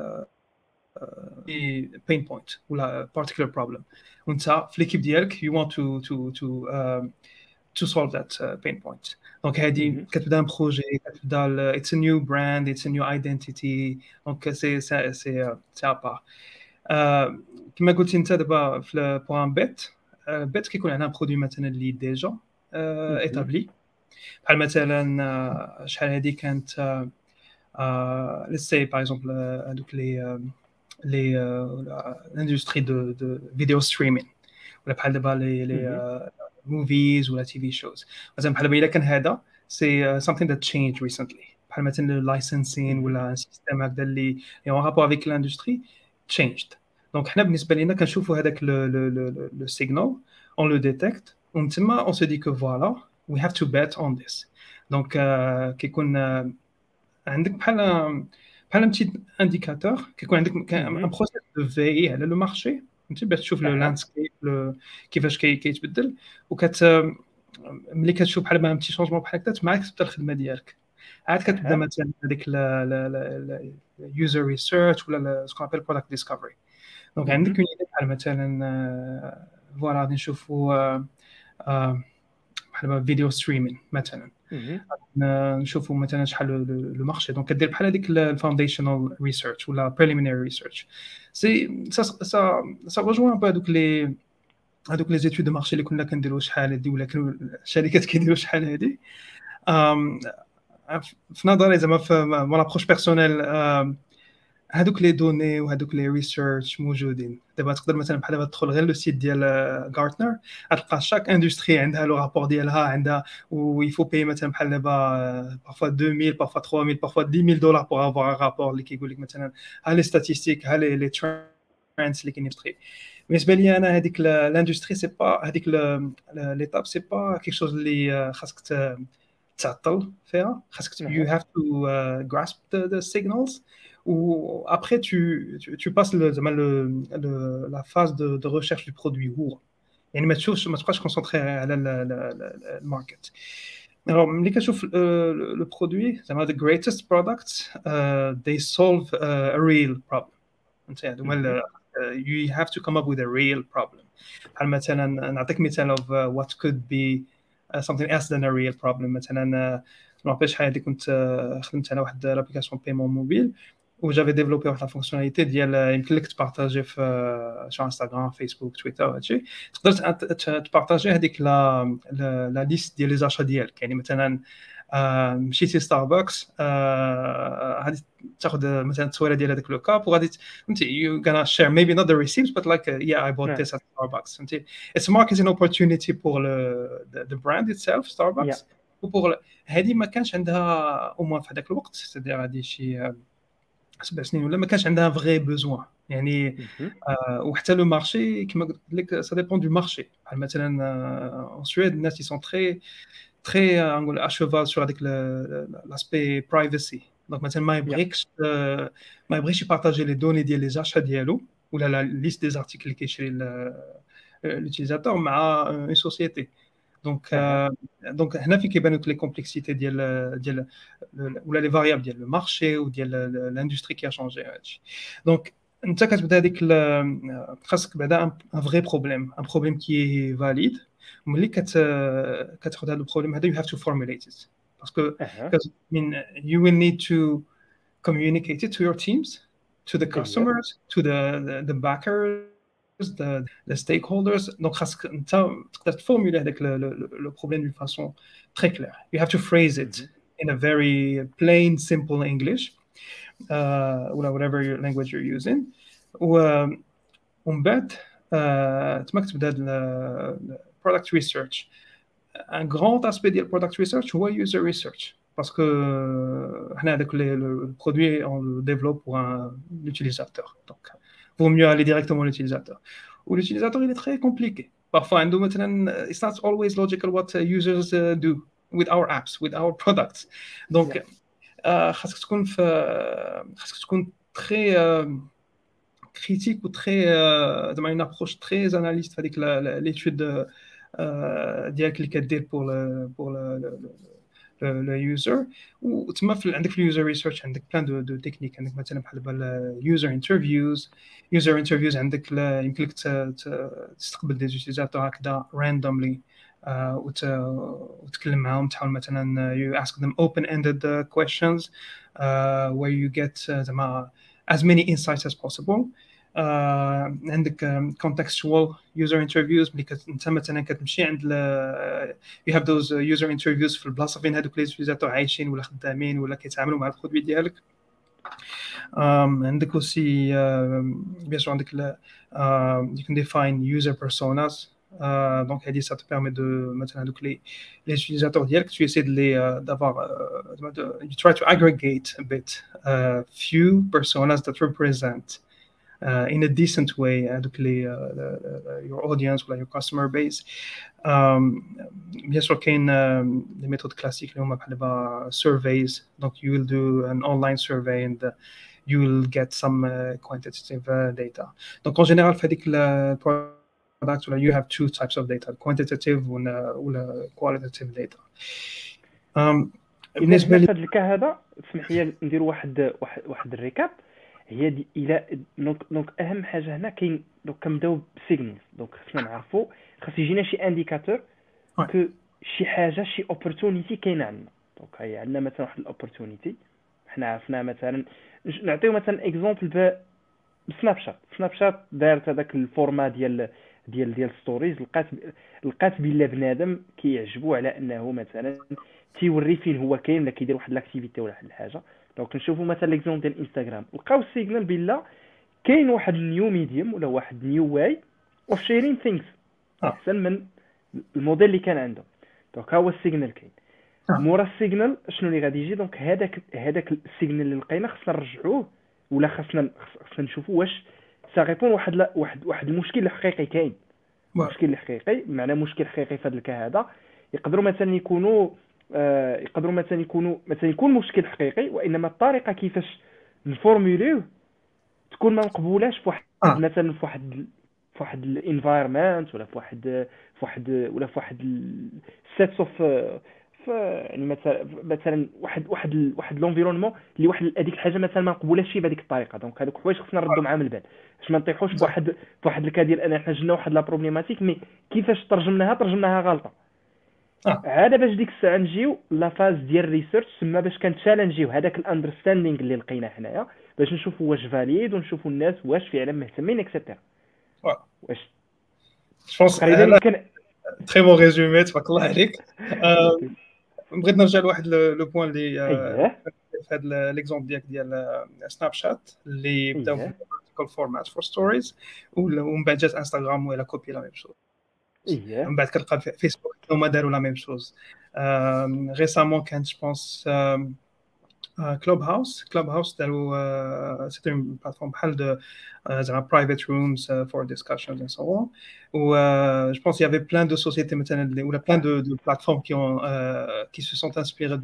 بين بوينت ولا particular problem وانت في ليكيب ديالك you want to to to um, to solve that uh, pain point. دونك هذه كتبدا بروجي، كتبدا it's a new brand, it's a new identity. دونك سي سي سي سي ابار كما قلتي انت دابا في بوان بيت بيت كيكون عندنا برودوي مثلا اللي ديجا ايتابلي، بحال مثلا شحال هذه كانت let's say par exemple هذوك لي les l'industrie de de video streaming ولا بحال دابا لي لي movies ولا تي في shows. مثلا بحال دابا الا كان هذا سي something that changed recently بحال مثلا licensing ولا سيستم هكذا اللي en rapport avec l'industrie changed. دونك حنا بالنسبه لينا كنشوفوا هذاك لو لو لو سيغنال on le détecte ومن تما on se dit que voilà we have to bet on this. دونك كيكون عندك بحال بحال un petit indicateur كيكون عندك ان بروسيس دو في على لو مارشي انت باش تشوف لو لاندسكيب كيفاش كيتبدل، وكت ملي كتشوف بحال ما بتي شونجمون بحال هكا معاك تبدا الخدمه ديالك. عاد كتبدا مثلا هذيك اليوزر ريسيرش ولا سكون ابل برودكت ديسكفري. دونك عندك اون ايدي بحال مثلا فوالا غادي نشوفوا بحال فيديو ستريمين مثلا نشوفوا مثلا شحال لو مارشي. دونك كدير بحال هذيك الفاونديشنال ريسيرش ولا بريليمينري ريسيرش. سي سا سا سا رجوان با دوك لي هذوك لي زيتود دو مارشي اللي كنا كنديروا شحال هذه ولا كانوا الشركات كيديروا شحال هذه. في نظري زعما في مون ابروش بيرسونيل هذوك لي دوني وهذوك لي ريسيرش موجودين. دابا تقدر مثلا بحال دابا تدخل غير لو سيت ديال غارتنر غتلقى شاك اندستري عندها لو رابور ديالها عندها ويفو باي مثلا بحال دابا بارفوا deux mille بارفوا trois mille بارفوا dix mille دولار بور افوار ان رابور اللي كيقول لك مثلا ها لي ستاتيستيك ها لي لي ترندز اللي كاينين في. بالنسبه لي انا هذيك لاندستري سي با هذيك ليتاب سي با كيك شوز اللي خاصك تعطل فيها. خاصك you have to uh, grasp the, the signals ou après tu tu, tu passes le, le, le la phase de, de recherche du produit ou يعني ما تشوفش ما تبقاش كونسونطري على الماركت. alors ملي كتشوف le produit زعما the greatest products uh, they solve uh, a real problem. انت هذوما you have to come up with a real problem. بحال مثلا نعطيك مثال of uh, what could be uh, something else than a real problem. مثلا ما نعرفش شحال هذه كنت خدمت على واحد لابليكاسيون بيمون موبيل وجافي ديفلوبي واحد الفونكسيوناليتي ديال يمكن لك تبارطاجي في شو انستغرام فيسبوك تويتر وهادشي. تقدر تبارطاجي هذيك لا لا ليست ديال لي زاشا ديالك. يعني مثلا مشيتي ستاربكس غادي تاخذ مثلا التصويره ديال هذاك لو كاب وغادي انت you gonna share maybe not the receipts but like uh, yeah I bought yeah. this at Starbucks. انت it's a marketing opportunity pour le the, the brand itself Starbucks yeah. وبور هذه ما كانش عندها او موان في هذاك الوقت سيدير هذه شي سبع سنين ولا ما كانش عندها فغي بوزوان يعني. آه وحتى لو مارشي كما قلت لك سا ديبون دو مارشي. بحال مثلا ان سويد الناس سون تري تري نقول اشوفال سور هذيك لاسبي برايفسي. دونك مثلا ما يبغيكش آه ما يبغيش يبارطاجي لي دوني ديال لي زاشا ديالو ولا لا ليست دي زارتيكل اللي كيشري لوتيليزاتور مع اون سوسيتي. دونك دونك هنا فين كيبانوا لي كومبلكسيتي ديال ديال ولا لي فاريابل ديال لو مارشي وديال لاندستري كي شونجي هادشي. دونك انت كتبدا هذيك خاصك بعدا ان فري بروبليم ان بروبليم كي فاليد. ملي كت كتاخذ هذا البروبليم هذا you have to formulate it باسكو because I mean you will need to communicate it to your teams to the customers to the the, the backers the, the stakeholders. Donc, خاصك انت تقدر تفورمولي هذاك le problème d'une façon très claire. You have to phrase it in a very plain, simple English, uh, whatever your language you're using. ومن بعد تماك تبدا ال product research. Un grand aspect de product research هو user research. Parce que حنا هذاك le produit on le développe pour un utilisateur. Donc vaut mieux aller directement à l'utilisateur. Ou l'utilisateur il est très compliqué. Parfois عنده مثلا it's not always logical what users uh, do with our apps, with our products. Donc خاصك تكون في خاصك تكون très critique ou très زعما une approche très analyste في هذيك l'étude ديالك اللي كدير pour le pour le le user. وتما في عندك في اليوزر ريسيرش عندك بلان دو دو تكنيك. عندك مثلا بحال دابا يوزر انترفيوز يوزر انترفيوز عندك يمكن لك تستقبل دي يوتيليزاتور هكذا راندوملي وتكلم معاهم. تحاول مثلا you ask them open ended questions uh, where you get زعما uh, as many insights as possible. Uh, عندك um, contextual user interviews ملي انت مثلا كتمشي عند ل... you have those user interviews في البلاصه فين هذوك لي يوتيليزاتور عايشين ولا خدامين ولا كيتعاملوا مع البرودوي ديالك. um, عندك aussi بيان سور عندك ل... uh, you can define user personas. uh, donc هذه ça te permet de مثلا هذوك لي لي يوتيليزاتور ديالك tu essaies de les d'avoir uh, you try to aggregate a bit uh, few personas that represent Uh, in a decent way هذوك uh, لي uh, your audience ولا your customer base. بيان سور كاين لي ميثود كلاسيك اللي هما بحال دابا surveys. donc you will do an online survey and uh, you will get some uh, quantitative uh, data. donc en général في هذيك product ولا you have two types of data, quantitative ولا ولا qualitative data. um, بالنسبه لهذا الكا هذا اسمح لي ندير واحد واحد واحد الريكاب. هي دي الى دونك دونك اهم حاجه هنا كاين دونك كنبداو بالسيغنالز. دونك خصنا نعرفوا خاص يجينا شي انديكاتور كو شي حاجه شي اوبورتونيتي كاينه عندنا. دونك هي عندنا مثلا واحد الاوبورتونيتي حنا عرفنا مثلا نعطيو مثلا اكزومبل بسناب شات. سناب شات دارت هذاك الفورما ديال ديال ديال ستوريز. لقات لقات بلا بنادم كيعجبو على انه مثلا تيوري فين هو كاين ولا كيدير واحد لاكتيفيتي ولا واحد الحاجه. دونك نشوفوا مثلا ليكزومبل ديال انستغرام لقاو السيغنال بلا كاين واحد نيو ميديوم ولا واحد نيو واي اوف شيرين ثينكس احسن من الموديل اللي كان عنده. دونك ها هو السيغنال كاين. مورا السيغنال شنو اللي غادي يجي؟ دونك هذاك هذاك السيغنال اللي لقينا خصنا نرجعوه ولا خصنا خصنا نشوفوا واش سا ريبون واحد لا واحد واحد المشكل الحقيقي كاين. مشكل حقيقي معناه مشكل حقيقي في هذا الكا هذا. يقدروا مثلا يكونوا آه يقدروا مثلا يكونوا مثلا يكون مشكل حقيقي وانما الطريقه كيفاش نفورموليوه تكون ما مقبولاش في واحد آه. مثلا في واحد في واحد الانفايرمنت ولا في واحد في واحد ولا في واحد سيتس اوف يعني مثلا مثلا واحد واحد واحد لونفيرونمون اللي واحد هذيك الحاجه مثلا ما مقبولاش بهذيك الطريقه. دونك هذوك حوايج خصنا نردوا معاهم البال باش ما نطيحوش بواحد بواحد الكا ديال انا حنا جبنا واحد لا بروبليماتيك مي كيفاش ترجمناها ترجمناها غلطه. آه. عاد باش ديك الساعه نجيو لا فاز ديال الريسيرش تما باش كنتشالنجيو هذاك الاندرستاندينغ اللي لقينا حنايا باش نشوفوا واش فاليد ونشوفوا الناس واش فعلا مهتمين اكسيتيرا. واش جونس كان تري بون ريزومي تبارك الله عليك. بغيت نرجع لواحد لو بوين اللي في هذا ليكزومبل ديالك ديال سناب شات اللي بداو بالفيرتيكال فورمات فور ستوريز ومن بعد جات انستغرام ولا كوبي لا ميم شوز. من بعد كتلقى فيسبوك هما داروا لا ميم شوز. ريسامون كانت جو بونس كلوب هاوس كلوب هاوس داروا سيتي اون بلاتفورم بحال دو زعما برايفت رومز فور ديسكشنز اند سو اون. و جو بونس يافي بلان دو سوسيتي مثلا ولا بلان دو دو بلاتفورم كي اون كي سو سونت انسبيري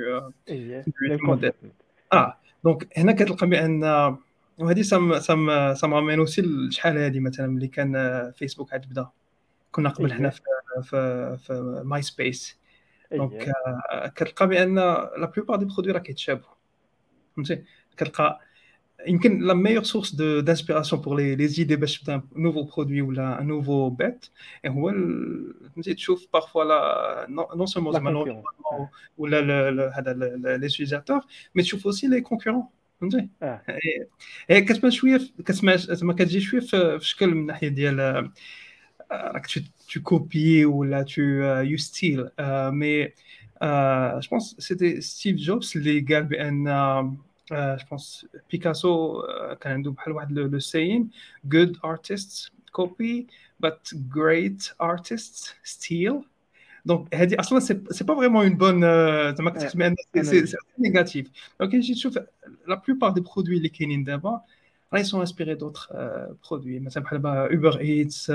دو موديل. اه دونك هنا كتلقى بان وهذه سام سام سام رامين اوسي لشحال هذه مثلا ملي كان فيسبوك عاد بدا كنا قبل حنا في في في ماي سبيس. دونك كتلقى بان لا بلوبار دي برودوي راه كيتشابهوا فهمتي. كتلقى يمكن لا ميور سورس دو دانسبيراسيون بور لي لي زيدي باش تبدا نوفو برودوي ولا نوفو بيت هو فهمتي تشوف بارفوا لا نون سولمون زعما ولا هذا لي يوتيليزاتور مي تشوف اوسي لي كونكورون فهمتي اه هي كتبان شويه في- كتسمع زعما كتجي شويه في في شكل من ناحيه ديال آه، راك tu tu copies ولا tu euh, you steal euh, mais euh, je pense c'était Steve Jobs اللي قال بان euh, je pense بيكاسو euh, كان عنده بحال واحد لو لو saying good artists copy but great artists steal دونك هذه اصلا سي سي با فريمون اون بون زعما اه كتحسب ان سي سي انالوجي. نيجاتيف دونك كي تجي تشوف لا بلوبار دي برودوي اللي كاينين دابا راهي سون انسبيري دوطخ برودوي مثلا بحال اوبر ايتس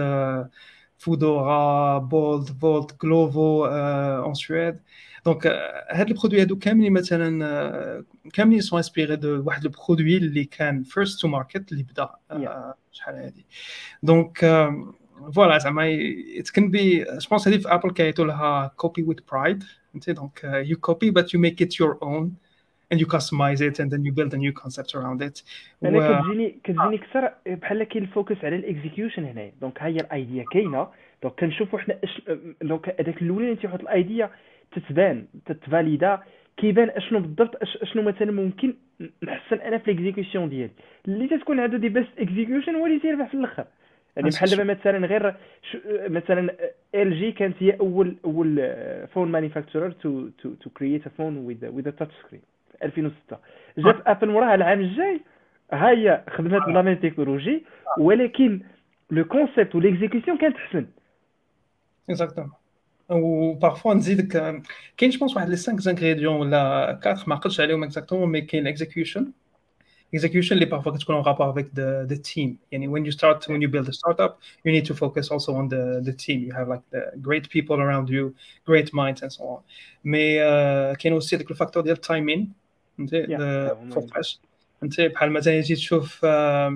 فودورا بولت فولت جلوفو اون سويد دونك هاد البرودوي هادو كاملين مثلا آه، كاملين سون انسبيري دو واحد البرودوي اللي كان فيرست تو ماركت اللي بدا يا آه، شحال هادي دونك فوالا زعما it can be je pense هذه في ابل كيعيطوا لها copy with pride فهمتي دونك uh, you copy but you make it your own and you customize it and then you build a new concept around it انا و كتجيني كتجيني اكثر بحال كاين الفوكس على الاكزيكيوشن هنايا. دونك ها هي الايديا كاينه، دونك كنشوفوا حنا اش دونك هذاك الاولاني اللي تيحط الايديا تتبان تتفاليدا، كيبان اشنو بالضبط اش اشنو مثلا ممكن نحسن انا في الاكزيكيوشن ديالي اللي تتكون عنده دي بيست اكزيكيوشن هو اللي تيربح في الاخر. يعني بحال دابا مثلا غير ش... مثلا ال جي كانت هي اول اول فون مانيفاكتورر تو تو تو كرييت ا فون وذ وذ تاتش سكرين في ألفين وستة. جات ابل وراها العام الجاي ها هي خدمت بلا ميم تكنولوجي، ولكن لو كونسيبت والاكزيكيوشن كانت احسن. exactement وبارفوا نزيدك آه، كاين جو بونس واحد لي خمسة انغريديون ولا أربعة ما عقلتش عليهم اكزاكتومون مي كاين الاكزيكيوشن execution اللي parfois كتكون en rapport avec the, the team يعني when you start when you build a startup you need to focus also on the, the team you have like the great people around you great minds and so on mais uh, كاين aussi داك الفاكتور ديال التايمين فهمتي يا the هما فوقاش فهمتي بحال مثلا يجي تشوف آه،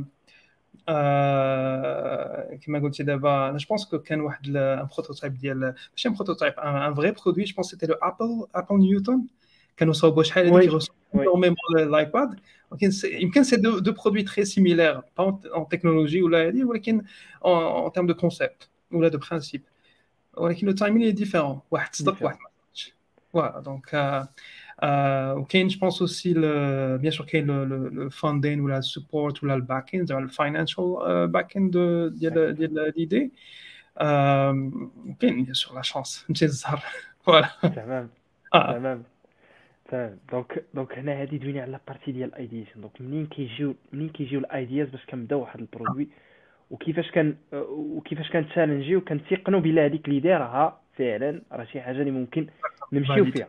آه، كما قلتي دابا انا جو بونس كو كان واحد ان بروتوتايب ديال ماشي ان بروتوتايب ان فري برودوي جو بونس سيتي لو ابل ابل نيوتن كانوا صاوبوا شحال هذيك وي يغوصوا وي اينورميمون الايباد ولكن يمكن سي دو دو برودوي تري سيميلير با اون تكنولوجي ولا هذه ولكن اون تيرم دو كونسيبت ولا دو برانسيب ولكن لو تايمين ديفيرون واحد صدق واحد ما صدقش فوالا دونك وكاين جو بونس اوسي بيان سور كاين لو فاندين ولا السبورت ولا الباكين زعما الفاينانشال باكين ديال ديال ليدي كاين بيان سور لا شانس فهمتي الزهر فوالا تمام اه تمام تمام. دونك دونك هنا هادي دوينا على بارتي ديال الايديشن. دونك منين كيجيو منين كيجيو الايدياز باش كنبداو واحد البرودوي، وكيفاش كان وكيفاش كنتشالنجيو وكنتيقنوا بلا هذيك اللي دايرها فعلا راه شي حاجه اللي ممكن نمشيو فيها.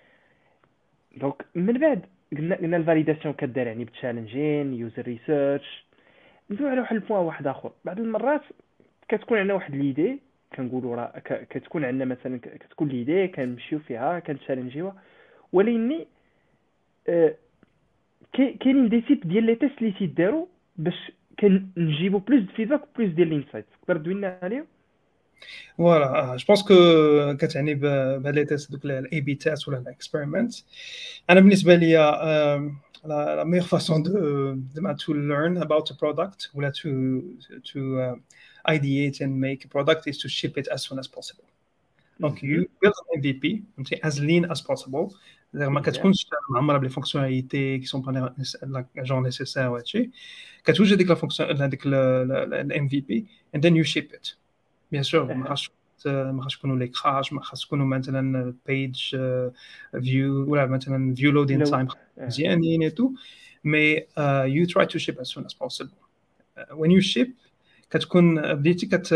دونك من بعد قلنا قلنا الفاليداسيون كدار يعني بتشالنجين يوزر ريسيرش. ندوي على واحد البوان واحد اخر. بعض المرات كتكون عندنا واحد ليدي كنقولوا راه ك- كتكون عندنا مثلا ك- كتكون ليدي كنمشيو فيها كنتشالنجيوها، ولكن آه، كاي- كاينين دي تيب ديال لي تيست اللي تيداروا باش كنجيبوا بلوس دو فيدباك بلوس ديال الانسايت. تقدر دوينا عليهم؟ فوالا جو بونس كو كتعني بهاد لي تيست دوك الاي بي تيست ولا الاكسبيرمنت انا بالنسبه لي لا ميغ فاسون دو زعما تو ليرن اباوت ا برودكت ولا تو تو ideate and make a product is to ship it as soon as possible. Donc you build an M V P as lean as possible. ما كتكونش معمره بلي فونكسيوناليتي كي سون با جون نيسيسير وهادشي كتوجد ديك لا فونكسيون هذيك الام في بي and then you ship it. بيان سور ما خاصش ما خاصش يكونوا لي كراش ما خاص يكونوا مثلا بيج فيو ولا مثلا فيو لودين تايم مزيانين اي تو مي يو تراي تو شيب as soon as possible. Uh, when you ship كتكون بديتي كت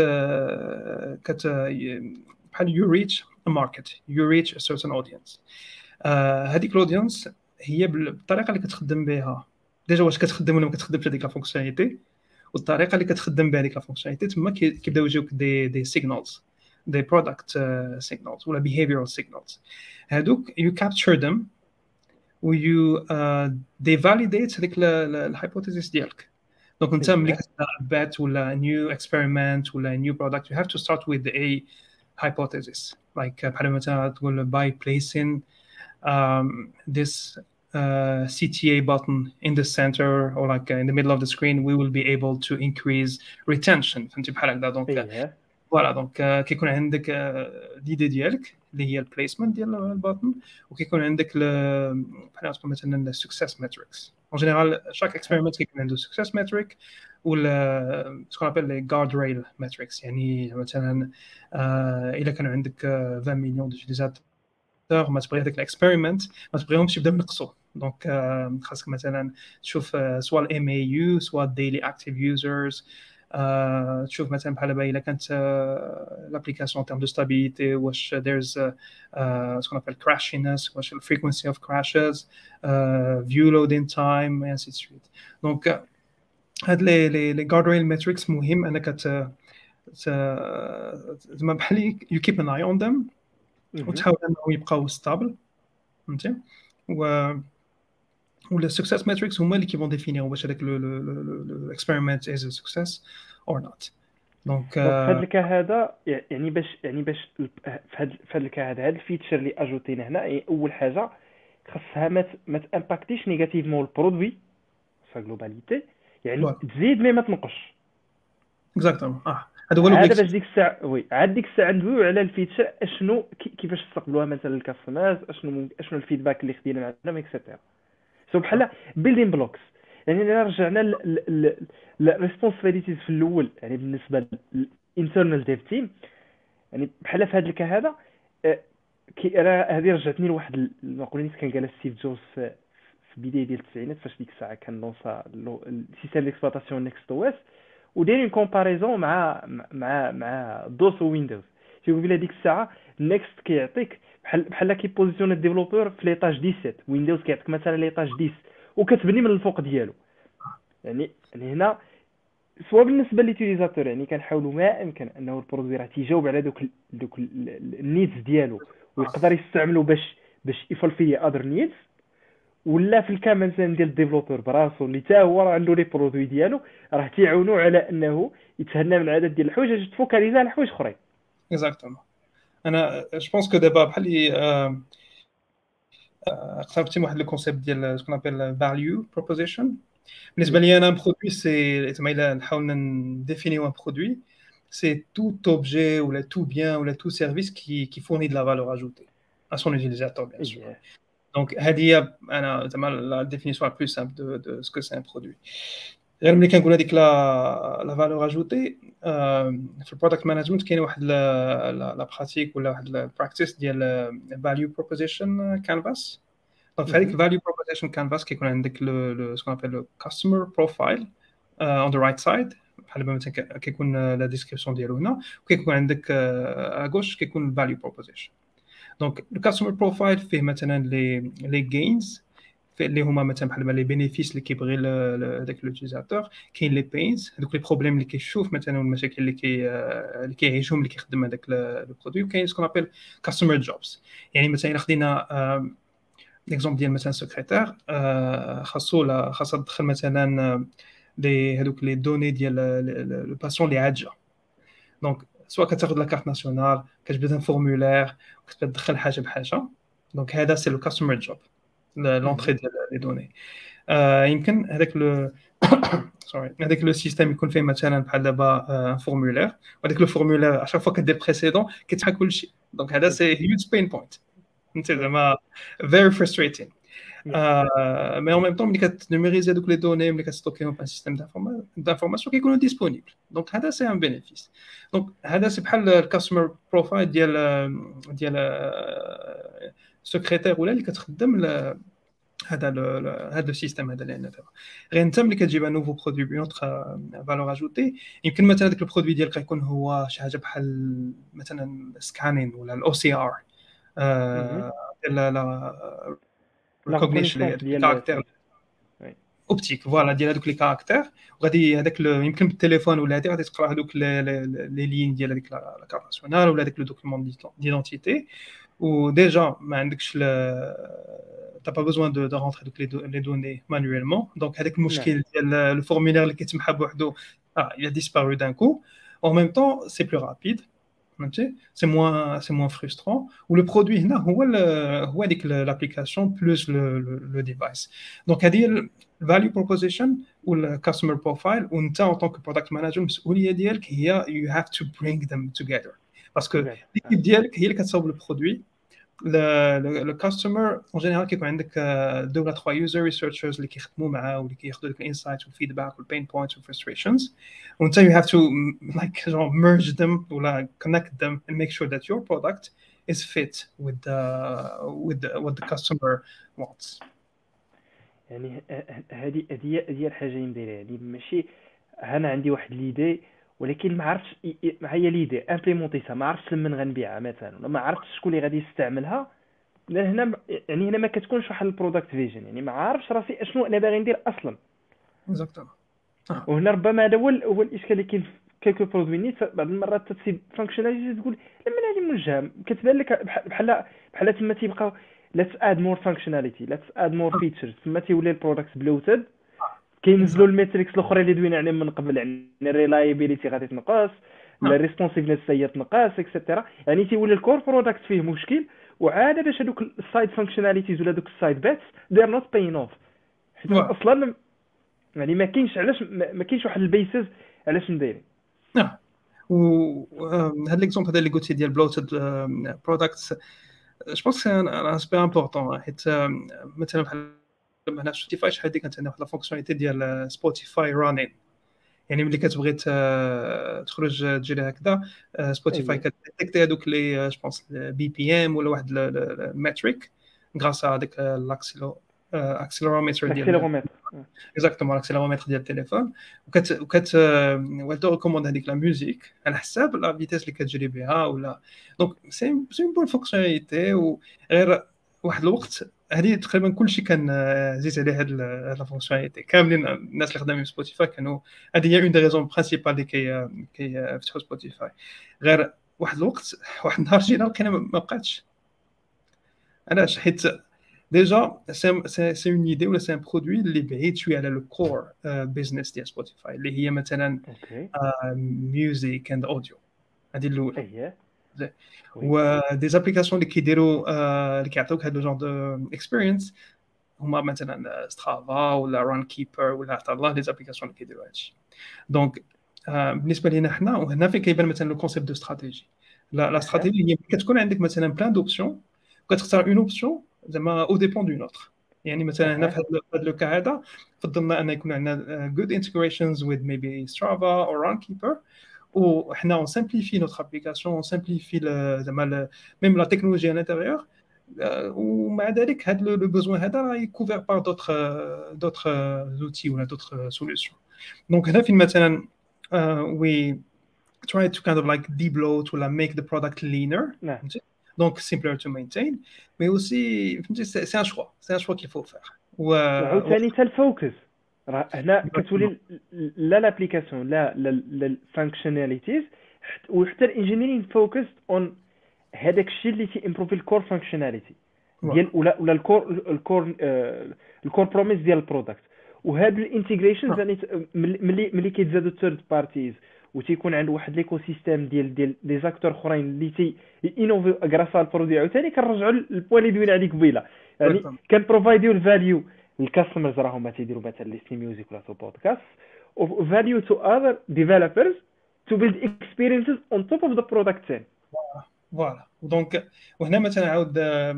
كت بحال you reach a market you reach a certain audience. هذيك uh, الاودينس هي بالطريقه اللي كتخدم بها ديجا واش كتخدم ولا ما كتخدمش هذيك لا فونكسيوناليتي والطريقه اللي كتخدم بها هذيك لا فونكسيوناليتي تما كيبداو يجيوك دي دي سيجنالز دي برودكت سيجنالز ولا behavioral signals. هادوك you capture them و you uh, they validate هذيك الهايبوثيسيس ديالك. دونك انت ملي كتبدا بات ولا new experiment ولا new product you have to start with a hypothesis like بحال مثلا تقول by placing um, this uh, C T A button in the center or like uh, in the middle of the screen we will be able to increase retention فهمتي بحال هكذا. دونك فوالا دونك كيكون عندك ليدي ديالك اللي هي البليسمنت ديال الباتن، وكيكون عندك بحال تقول مثلا السكسيس ماتريكس. اون جينيرال شاك اكسبيريمنت كيكون عنده سكسيس ماتريك ولا سكون ابل لي جارد ريل ماتريكس. يعني مثلا آه الا كانوا عندك عشرين مليون ديوتيليزاتور ما تبغي هذاك الاكسبيريمنت ما تبغيهمش يبداو ينقصوا. دونك euh, خاصك مثلا تشوف uh, سواء الام اي يو سواء الديلي اكتيف يوزرز، تشوف مثلا بحال دابا الا كانت لابليكاسيون تيرم دو ستابيليتي واش there's سكون ابل crashiness، واش الفريكونسي اوف crashes، فيو لودين تايم and so on. دونك هاد لي لي لي جارد ريل ماتريكس مهم انك ت زعما بحال يو كيب ان اي اون ذم وتحاول انهم يبقاو ستابل فهمتي. و ولا السكسيس ماتريكس هما اللي كيفون ديفينيو واش هذاك الاكسبيريمنت از سكسيس اور نوت. دونك دونك في هذا الكا هذا يعني باش يعني باش في هذا في هذا الكا هذا هذا الفيتشر اللي اجوتينا هنا، يعني اول حاجه خاصها ما ما تامباكتيش نيجاتيفمون البرودوي سا جلوباليتي، يعني Voilà. تزيد مي ما تنقصش. اكزاكتومون اه هذا هو هذا لوبجيكتيف. باش ديك الساعه وي عاد ديك الساعه ندويو على الفيتشر اشنو كيفاش تستقبلوها مثلا الكاستمرز، اشنو اشنو الفيدباك اللي خدينا معنا اكسيتيرا. سو بحال بيلدين بلوكس. يعني الا رجعنا للريسبونسابيلتيز في الاول، يعني بالنسبه للانترنال ديف تيم، يعني بحال في هذا الكا هذا كي راه هذه رجعتني لواحد المقوله اللي كان قالها ستيف جوبز في بدايه ديال التسعينات، فاش ديك الساعه كان لونسا السيستم ديكسبلوطاسيون نيكست او اس، وداير اون كومباريزون مع مع مع دوس ويندوز. تيقول بلا ديك الساعه نيكست كيعطيك بحال بحال كي بوزيسيون الديفلوبور في ليطاج سبعة عشر، ويندوز كيعطيك مثلا ليطاج عشرة وكتبني من الفوق ديالو. يعني يعني هنا سواء بالنسبه لليوتيليزاتور، يعني كنحاولوا ما امكن انه البرودوي راه تيجاوب على دوك دوك النيدز ديالو ويقدر يستعملو باش باش يفولفي اذر نيدز، ولا في الكام مثلا ديال الديفلوبر براسو اللي حتى هو راه عنده لي برودوي ديالو راه تيعاونوا على انه يتهنى من عدد ديال الحوايج باش تفوكاليزا على حوايج اخرين. اكزاكتومون. انا جو بونس كو دابا بحال لي اقتربتي من واحد لو كونسيبت ديال سكون ابل فاليو بروبوزيشن. بالنسبه لي انا برودوي سي زعما الا نحاول نديفينيو ان برودوي سي tout objet ou là tout bien ou là tout service qui qui fournit de la valeur ajoutée à son utilisateur bien sûr. Donc هذه هي انا زعما la définition la plus simple de de ce que c'est un produit. غير ملي كنقول هذيك لا لا فالور اجوتي في البرودكت مانجمنت كاين واحد لا براتيك ولا واحد البراكتيس ديال فاليو بروبوزيشن كانفاس. دونك في هذيك الفاليو بروبوزيشن كانفاس كيكون عندك لو سكون ابل لو كاستمر بروفايل اون ذا رايت سايد، بحال مثلا كيكون لا ديسكريبسيون ديالو هنا، وكيكون عندك ا غوش كيكون الفاليو بروبوزيشن. دونك الكاستمر بروفايل فيه مثلا لي لي جينز اللي هما مثلا بحال لي بينيفيس اللي كيبغي هذاك لوتيزاتور، كاين لي بينز هذوك لي بروبليم اللي كيشوف مثلا والمشاكل اللي كي اللي كيعيشهم اللي كيخدم هذاك لو برودوي، وكاين سكون ابل كاستمر جوبز. يعني مثلا الا خدينا ليكزومبل ديال مثلا سكرتير خاصو لا خاصها تدخل مثلا لي هذوك لي دوني ديال لو باسيون اللي عاجه. دونك سواء كتاخذ لا كارت ناسيونال كتبدا فورمولير كتبدا تدخل حاجه بحاجه. دونك هذا سي لو كاستمر جوب لونطري ديال لي دوني. آه يمكن هذاك لو سوري هذاك لو سيستيم يكون فيه مثلا بحال دابا ان فورمولير، وهذاك لو فورمولير اشاك فوا كدير بريسيدون كيتحا كلشي. دونك هذا سي هيوج بين بوينت انت زعما فيري فرستريتين. آه مي اون ميم طون ملي كتنوميريزي هذوك لي دوني ملي كتستوكيهم في ان سيستيم دانفورماسيون كيكونوا ديسپونيبل. دونك هذا سي ان بينيفيس. دونك هذا سي بحال الكاستمر بروفايل ديال ديال سكرتير ولا اللي كتخدم هذا هذا السيستم هذا اللي عندنا دابا. غير انت ملي كتجيب ان نوفو برودوي بيون اوتر فالور اجوتي، يمكن مثلا هذاك البرودوي ديالك يكون هو شي حاجه بحال مثلا سكانين ولا الاو سي ار لا لا ريكوغنيشن ديال الكاركتير اوبتيك فوالا ديال هذوك لي كاركتير، وغادي هذاك يمكن بالتليفون ولا هذه غادي تقرا هذوك لي لين ديال هذيك لا كارت ناسيونال ولا هذاك لو دوكيومون ديدونتيتي، وديجا ما عندكش t'as pas besoin de de rentrer donc les, do, les données manuellement. Donc avec le mushkil le, le formulaire اللي كيتمحى بوحدو ah il a disparu d'un coup. En même temps c'est plus rapide فهمتي سي موان سي موان فريسترون ولو برودوي هنا هو ال- هو هذيك لابليكاسيون بلوس لو ديفايس. دونك هذه الفاليو بروبوزيشن والكاستمر بروفايل، وانت ان طونك برودكت مانجر المسؤوليه ديالك هي يو هاف تو برينغ ذم توغيذر، باسكو together. ليكيب ديالك هي اللي كتصاوب البرودوي. le customer en général كيكون عندك deux ولا trois user researchers اللي كيخدموا معاه واللي كياخذوا لك الانسايتس والفيدباك والبين بوينتس والfrustrations، وانت you have to like genre merge them ولا connect them and make sure that your product is fit with the with the, what the customer wants. يعني هذه هذه هي الحاجه اللي نديرها، يعني ماشي انا عندي واحد ليدي ولكن ما عرفتش ي- ي- هي ليدي امبليمونتيها، ما عرفتش لمن غنبيعها مثلا، ولا ما عرفتش شكون اللي غادي يستعملها. لان هنا م- يعني هنا ما كتكونش واحد البرودكت فيجن، يعني ما عارفش راسي اشنو انا باغي ندير اصلا. Exactement. Ah. وهنا ربما هذا هو ال- هو الاشكال اللي كاين في كيلكو برودوي نيت. بعض المرات تتسيب فانكشناليتي تقول لما هذه موجهه، كتبان لك بح- بحال بحال تما تيبقاو let's add more functionality let's add more features، تما تيولي البرودكت بلوتد. كينزلوا Exact. الميتريكس الاخرى اللي دوينا عليهم من قبل، يعني الريلايبيليتي غادي تنقص، Ah. الريسبونسيفنس هي تنقص اكسيتيرا. يعني تيولي الكور برودكت فيه مشكل، وعاده باش هذوك السايد فانكشناليتيز ولا دوك السايد بيتس they are not paying off، حيت Voilà. اصلا يعني ما كاينش علاش ما ما كاينش واحد البيسز علاش ندير. Ah. وهذا ليكزومبل هذا اللي قلتي ديال بلوتد برودكتس، جو بونس سي ان اسبي امبورطون، حيت آم، مثلا بحال هنا في سبوتيفاي شحال هذيك كانت عندنا واحد لا فونكسيوناليتي ديال سبوتيفاي رانين، يعني ملي كتبغي ت- تخرج تجري هكذا سبوتيفاي اييه كتديتيكتي هذوك لي جو بونس بي بي ام ولا واحد الماتريك غراس هذاك الاكسيلو اكسيلرومتر ديال الاكسيلرومتر. اكزاكتومون الاكسيلرومتر ديال التليفون، وكت وكت وكت ريكوموند هذيك لا ميوزيك على حساب لا فيتيس اللي كتجري بها ولا. دونك سي سي بون فونكسيوناليتي. وغير واحد الوقت هذه تقريبا كلشي كان آه، زيد عليه هاد لا فونكسيوناليتي، كاملين الناس اللي خدامين في سبوتيفاي كانوا هذه هي اون دي ريزون برينسيبال اللي كي كي فتحوا سبوتيفاي. غير واحد الوقت واحد النهار جينا لقينا ما ما بقاتش. علاش؟ حيت ديجا سي سي سي اون ايدي ولا سي ان برودوي اللي بعيد شويه على لو كور بيزنس ديال سبوتيفاي اللي هي مثلا اوكي ميوزيك اند اوديو. هذه الاولى. اييه وي ودي زابليكاسيون اللي كيديروا آه، اللي كيعطيوك هذا جونر دو اكسبيرينس هما مثلا سترافا ولا ران كيبر ولا حتى الله، لي زابليكاسيون اللي كيديروا هادشي. دونك آه، بالنسبه لينا حنا، وهنا فين كيبان مثلا لو كونسيبت دو استراتيجي. لا لا اها استراتيجي هي كتكون عندك مثلا بلان دوبسيون وكتختار اون اوبسيون زعما او ديبون دون اوتر. يعني مثلا هنا في اها هذا هذا لو كا هذا فضلنا ان يكون عندنا جود انتجريشنز وذ ميبي سترافا او ران كيبر، وحنا اون سامبليفي نوتر ابليكاسيون، اون سامبليفي زعما ميم لا تكنولوجي à l'intérieur. ومع ذلك هذا لو بوزوان هذا راه يكوفر بار دوطخ دوطخ زوتي ولا دوطخ سوليوشن. دونك هنا فين مثلا وي try to kind of like debloat ولا make the product leaner, نعم. donc simpler to maintain, mais aussi c'est c'est un choix, c'est un choix qu'il faut faire. و وعاوتاني حتى الفوكس راه هنا كتولي لا لابليكاسيون لا لا الفانكشناليتيز وحتى الانجينيرين فوكس اون هذاك الشيء اللي تي امبروفي الكور فانكشناليتي ديال ولا ولا الكور الكور الكور بروميس ديال البرودكت. وهاد الانتجريشنز يعني ملي ملي كيتزادوا ثيرد بارتيز وتيكون عند واحد ليكو سيستيم ديال ديال لي زاكتور اخرين اللي تي انوفي غراس على البرودوي، عاوتاني كنرجعوا للبوان اللي دوينا عليه قبيله، يعني كان بروفايديو الفاليو الكاستمرز راهم تيديروا مثلا ليستي ميوزيك ولا تو بودكاست او فاليو تو اذر ديفلوبرز to build experiences on top of the product chain. فوالا. دونك وهنا مثلا عاود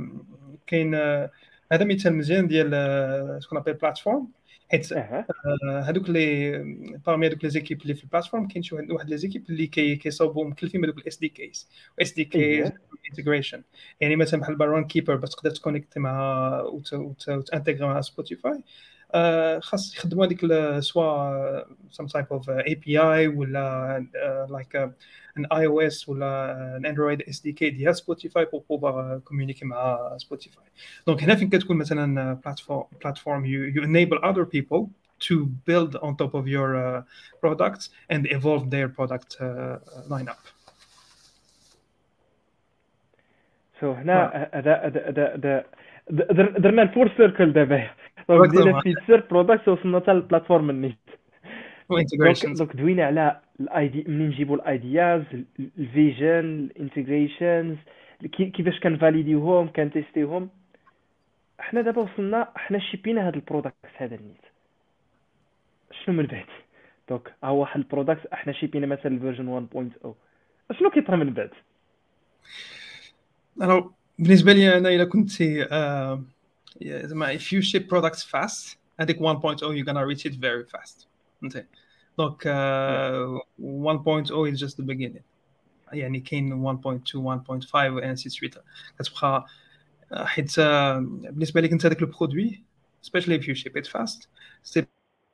كاين هذا مثال مزيان ديال سكون ابل بلاتفورم، حيت هذوك لي بارمي هذوك لي زيكيب اللي في البلاتفورم كاين شي واحد لي زيكيب اللي كي كيصاوبوا مكلفين بهذوك الاس دي كيز واس دي كي انتجريشن. يعني مثلا بحال بارون كيبر باش تقدر تكونيكت مع وتانتيغري مع سبوتيفاي خاص يخدموا هذيك سوا some type of A P I ولا like an iOS ولا an Android S D K ديال سبوتيفاي pour pouvoir communiquer مع سبوتيفاي. دونك هنا فين كتكون مثلا platform platform you, you enable other people to build on top of your uh, products and evolve their product uh, lineup. So هنا هذا هذا هذا درنا الفور سيركل دابا، بدينا فيتشر برودكت وصلنا حتى للبلاتفورم النيت وانتجريشنز. دونك دوينا على الاي دي منين نجيبوا الايدياز، الفيجن، الانتجريشنز، كيفاش كنفاليديوهم كنتيستيوهم. حنا دابا وصلنا، حنا شيبينا هذا البرودكت هذا النيت، شنو من بعد؟ دونك ها هو واحد البرودكت احنا شيبينا مثلا الفيرجن واحد نقطة صفر، شنو كيطرى من بعد؟ Alors, بالنسبه لي انا الا كنت آه، زعما if you ship products fast هذيك واحد نقطة صفر you're gonna reach it very fast. فهمتي؟ دونك Yeah. آه، واحد نقطة صفر is just the beginning. يعني كاين واحد نقطة اثنين واحد نقطة خمسة and سي سويت. كتبقى آه، حيت آه، بالنسبه لك انت هذاك البرودوي especially if you ship it fast سي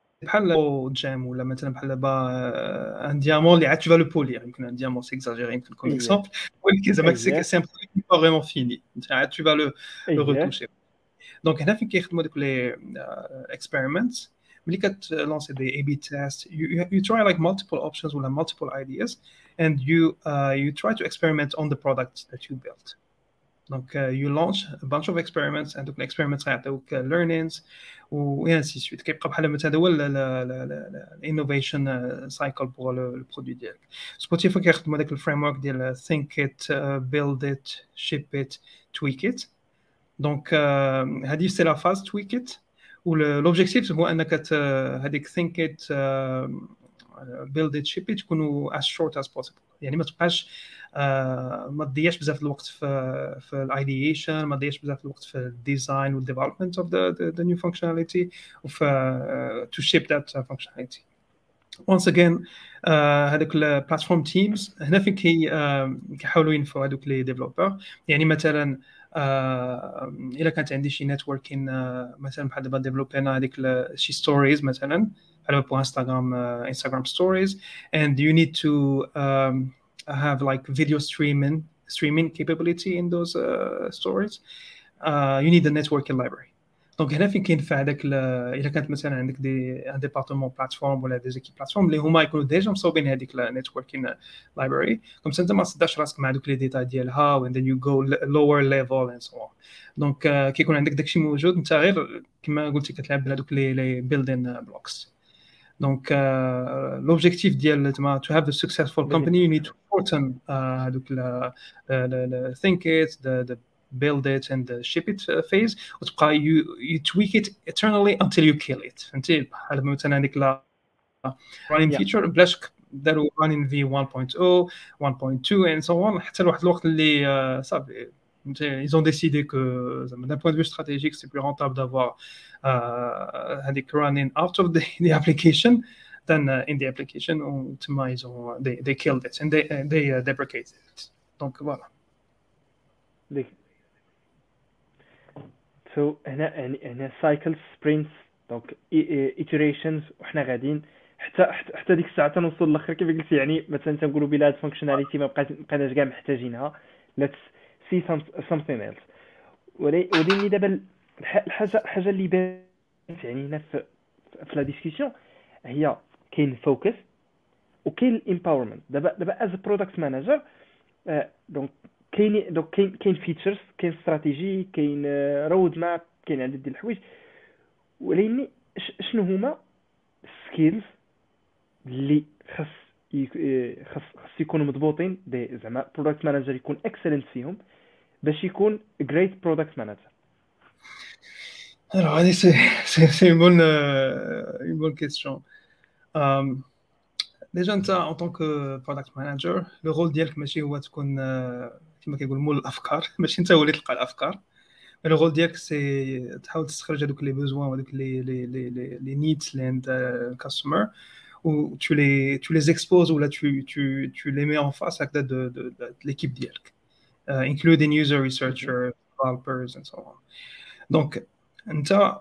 بحال جام ولا مثلا بحال دابا ان ديامون اللي عاد tu vas le polir. يمكن ان ديامون سي اكزاجيري يمكن كون ايه اكزومبل، ولكن زعما سي ايه سي ان برودوي با فريمون فيني، انت عاد tu vas le le ايه retoucher. دونك هنا فين كيخدموا دوك لي اكسبيرمنتس. ملي كتلونسي دي اي بي تيست you, you try like multiple options ولا multiple ideas and you uh, you try to experiment on the product that you built. Donc, uh, you launch a bunch of experiments and the experiments غيعطيوك learnings و ainsi de suite. كيبقى بحال مثلا هذا هو الانوفيشن سايكل بور البرودوي ديالك. سبوتيفاي كيخدموا هذاك الفريم ورك ديال think it, uh, build it, ship it, tweak it. دونك uh, هذه سي لا فاز tweak it. والobjectif هو انك هذيك think it, uh, build it, ship it تكونوا as short as possible. يعني ما تبقاش آه ما تضيعش بزاف الوقت في في الايديشن، ما تضيعش بزاف الوقت في الديزاين والديفلوبمنت اوف ذا ذا نيو فانكشناليتي وفي تو شيب ذات فانكشناليتي. once again هذوك البلاتفورم تيمز هنا فين كي كيحاولوا ينفعوا هذوك لي ديفلوبر. يعني مثلا آه الا كانت عندي شي نيتوركين آه مثلا بحال دابا ديفلوبينا هذيك شي ستوريز مثلا على بو انستغرام انستغرام ستوريز and you need to um, have like video streaming streaming capability in those uh, stories. uh, you need the networking library. دونك هنا فين كينفع هذاك الا كانت مثلا عندك دي ان ديبارتمون بلاتفورم ولا دي زيكيب بلاتفورم اللي هما يكونوا ديجا مصوبين هذيك النيتوركين لايبراري، كوم انت ما تصدعش راسك مع دوك لي ديتاي ديالها and then you go lower level and so on. دونك كيكون عندك داكشي موجود، انت غير كما قلتي كتلعب بهذوك لي بيلدين بلوكس. دونك لوبجيكتيف ديال زعما to have a successful company you need to shorten هذوك think it, the, the build it and the ship it phase وتبقى you, you tweak it eternally until you kill it. فهمتي؟ بحال مثلا هذيك لا running feature بلاش داروا running في واحد نقطة صفر واحد نقطة اثنين and so on حتى لواحد الوقت اللي صافي ils ont décidé que d'un point de vue stratégique c'est plus rentable d'avoir هذيك uh, running out of the, the application than uh, in the application. وتما ils ont they, they killed it and they, they uh, deprecated it. donc voilà. سو so, هنا يعني هنا سايكل سبرينتس دونك ايتريشنز وحنا غاديين حتى حتى ديك الساعه تنوصل للاخر كيف قلتي. يعني مثلا تنقولوا بلا هاد فانكشناليتي ما بقيت بقيناش كاع محتاجينها، ليتس سي something else. ولكن دابا الحاجه الحاجه اللي بانت يعني هنا في في لا ديسكسيون هي كاين فوكس وكاين الامباورمنت. دابا دابا از برودكت مانجر دونك كاين دونك كاين كاين فيتشرز، كاين استراتيجي، كاين رود ماب، كاين عدد ديال الحوايج. ولكن شنو هما السكيلز اللي خاص خاص خاص يكونوا مضبوطين دي زعما برودكت مانجر يكون اكسلنت فيهم باش يكون جريت برودكت مانجر؟ Alors, allez, c'est, c'est, c'est une bonne, euh, une bonne question. Um, déjà, en tant que product manager, le rôle ديالك ماشي هو تكون كما كيقولوا مول الافكار، ماشي انت هو اللي تلقى الافكار. le rôle ديالك سي تحاول تستخرج هذوك لي بوزوان وهذوك لي لي لي لي نيدز لاند كاستمر و tu les tu les exposes ou là tu tu tu les mets en face avec de de, de, de l'équipe ديالك uh, including user researchers, developers and so on. donc انت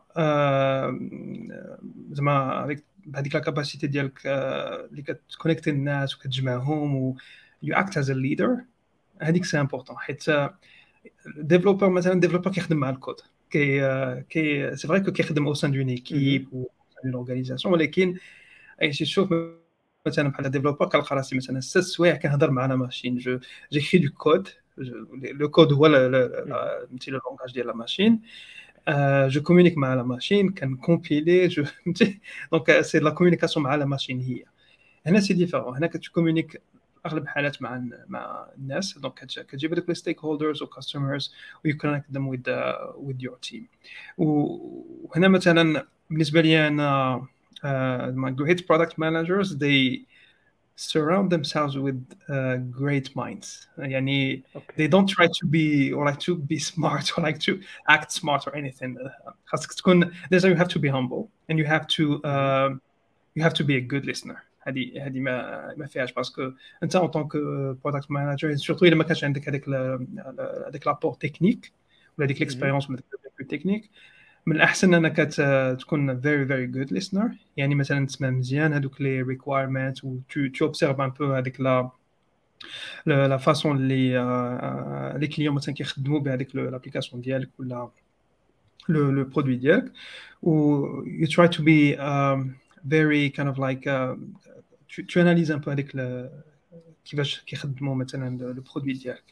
زعما avec بهذيك لا كاباسيتي ديالك اللي كتكونيكتي الناس وكتجمعهم و you act as a leader. هذيك سي امبورطون حيت ديفلوبر مثلا ديفلوبر كيخدم مع الكود كي كي سي فري كو كيخدم او سان دون ايكيب و دون اورغانيزاسيون، ولكن اي شي تشوف مثلا بحال ديفلوبر كنلقى راسي مثلا ست سوايع كنهضر مع لا ماشين جو جيكري دو كود. لو كود هو مثلا اللونغاج ديال لا ماشين. Euh, je communique مع la machine, can compiler, je donc c'est la communication مع la machine هي. هنا سي ديفيرون. هنا كتكومونيك اغلب الحالات مع مع الناس، دونك كتجيب هذوك لي ستيك هولدرز و كاستمرز و يو كونكت ذم وذ وذ يور تيم. وهنا مثلا بالنسبه لي انا my great product managers they surround themselves with uh, great minds. يعني اوكي they don't try to be or like to be smart or like to act smart or anything. خاصك تكون لازم you have to be humble and you have to uh, you have to be a good listener. هذه هذه ما ما فيهاش، باسكو انت ان طونك برودكت مانجر سورتو الا ما كانش عندك هذاك هذاك لابور تكنيك ولا هذيك ليكسبيريونس ولا ديك تكنيك، من الاحسن انك تكون very very good listener. يعني مثلا تسمع مزيان هذوك لي ريكوايرمنت و تو اوبسيرف ان بو هذيك لا لا فاصون اللي لي كليون مثلا كيخدموا بهذيك لابليكاسيون ديالك ولا لو لو برودوي ديالك، و you try to be um, very kind of like uh, tu analyses un peu avec le كيفاش كيخدموا مثلا لو برودوي ديالك.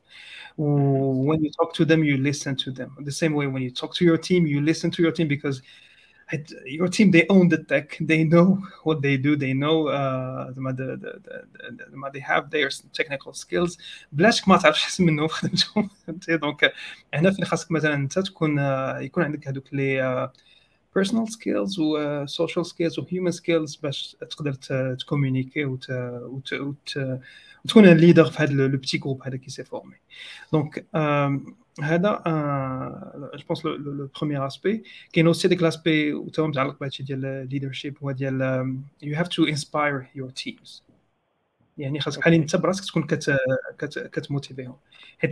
و when you talk to them you listen to them the same way when you talk to your team you listen to your team because your team they own the tech, they know what they do, they know uh, the, the, the, the, they have their technical skills. بلاش ما تعرفش حسن منهم في خدمتهم. دونك هنا فين خاصك مثلا انت تكون يكون عندك هذوك لي personal skills و uh, social skills و human skills باش تقدر تكومونيكي وت وت وت وتكون ليدر في هذا لو بيتي جروب هذا كي سي فورمي. دونك هذا جو بونس لو بروميير اسبي. كاين اوسي ديك لاسبي وتا متعلق بهادشي ديال ليدرشيب هو ديال you have to inspire your teams. يعني خاصك بحال انت براسك تكون كت كت كتموتيفيهم، حيت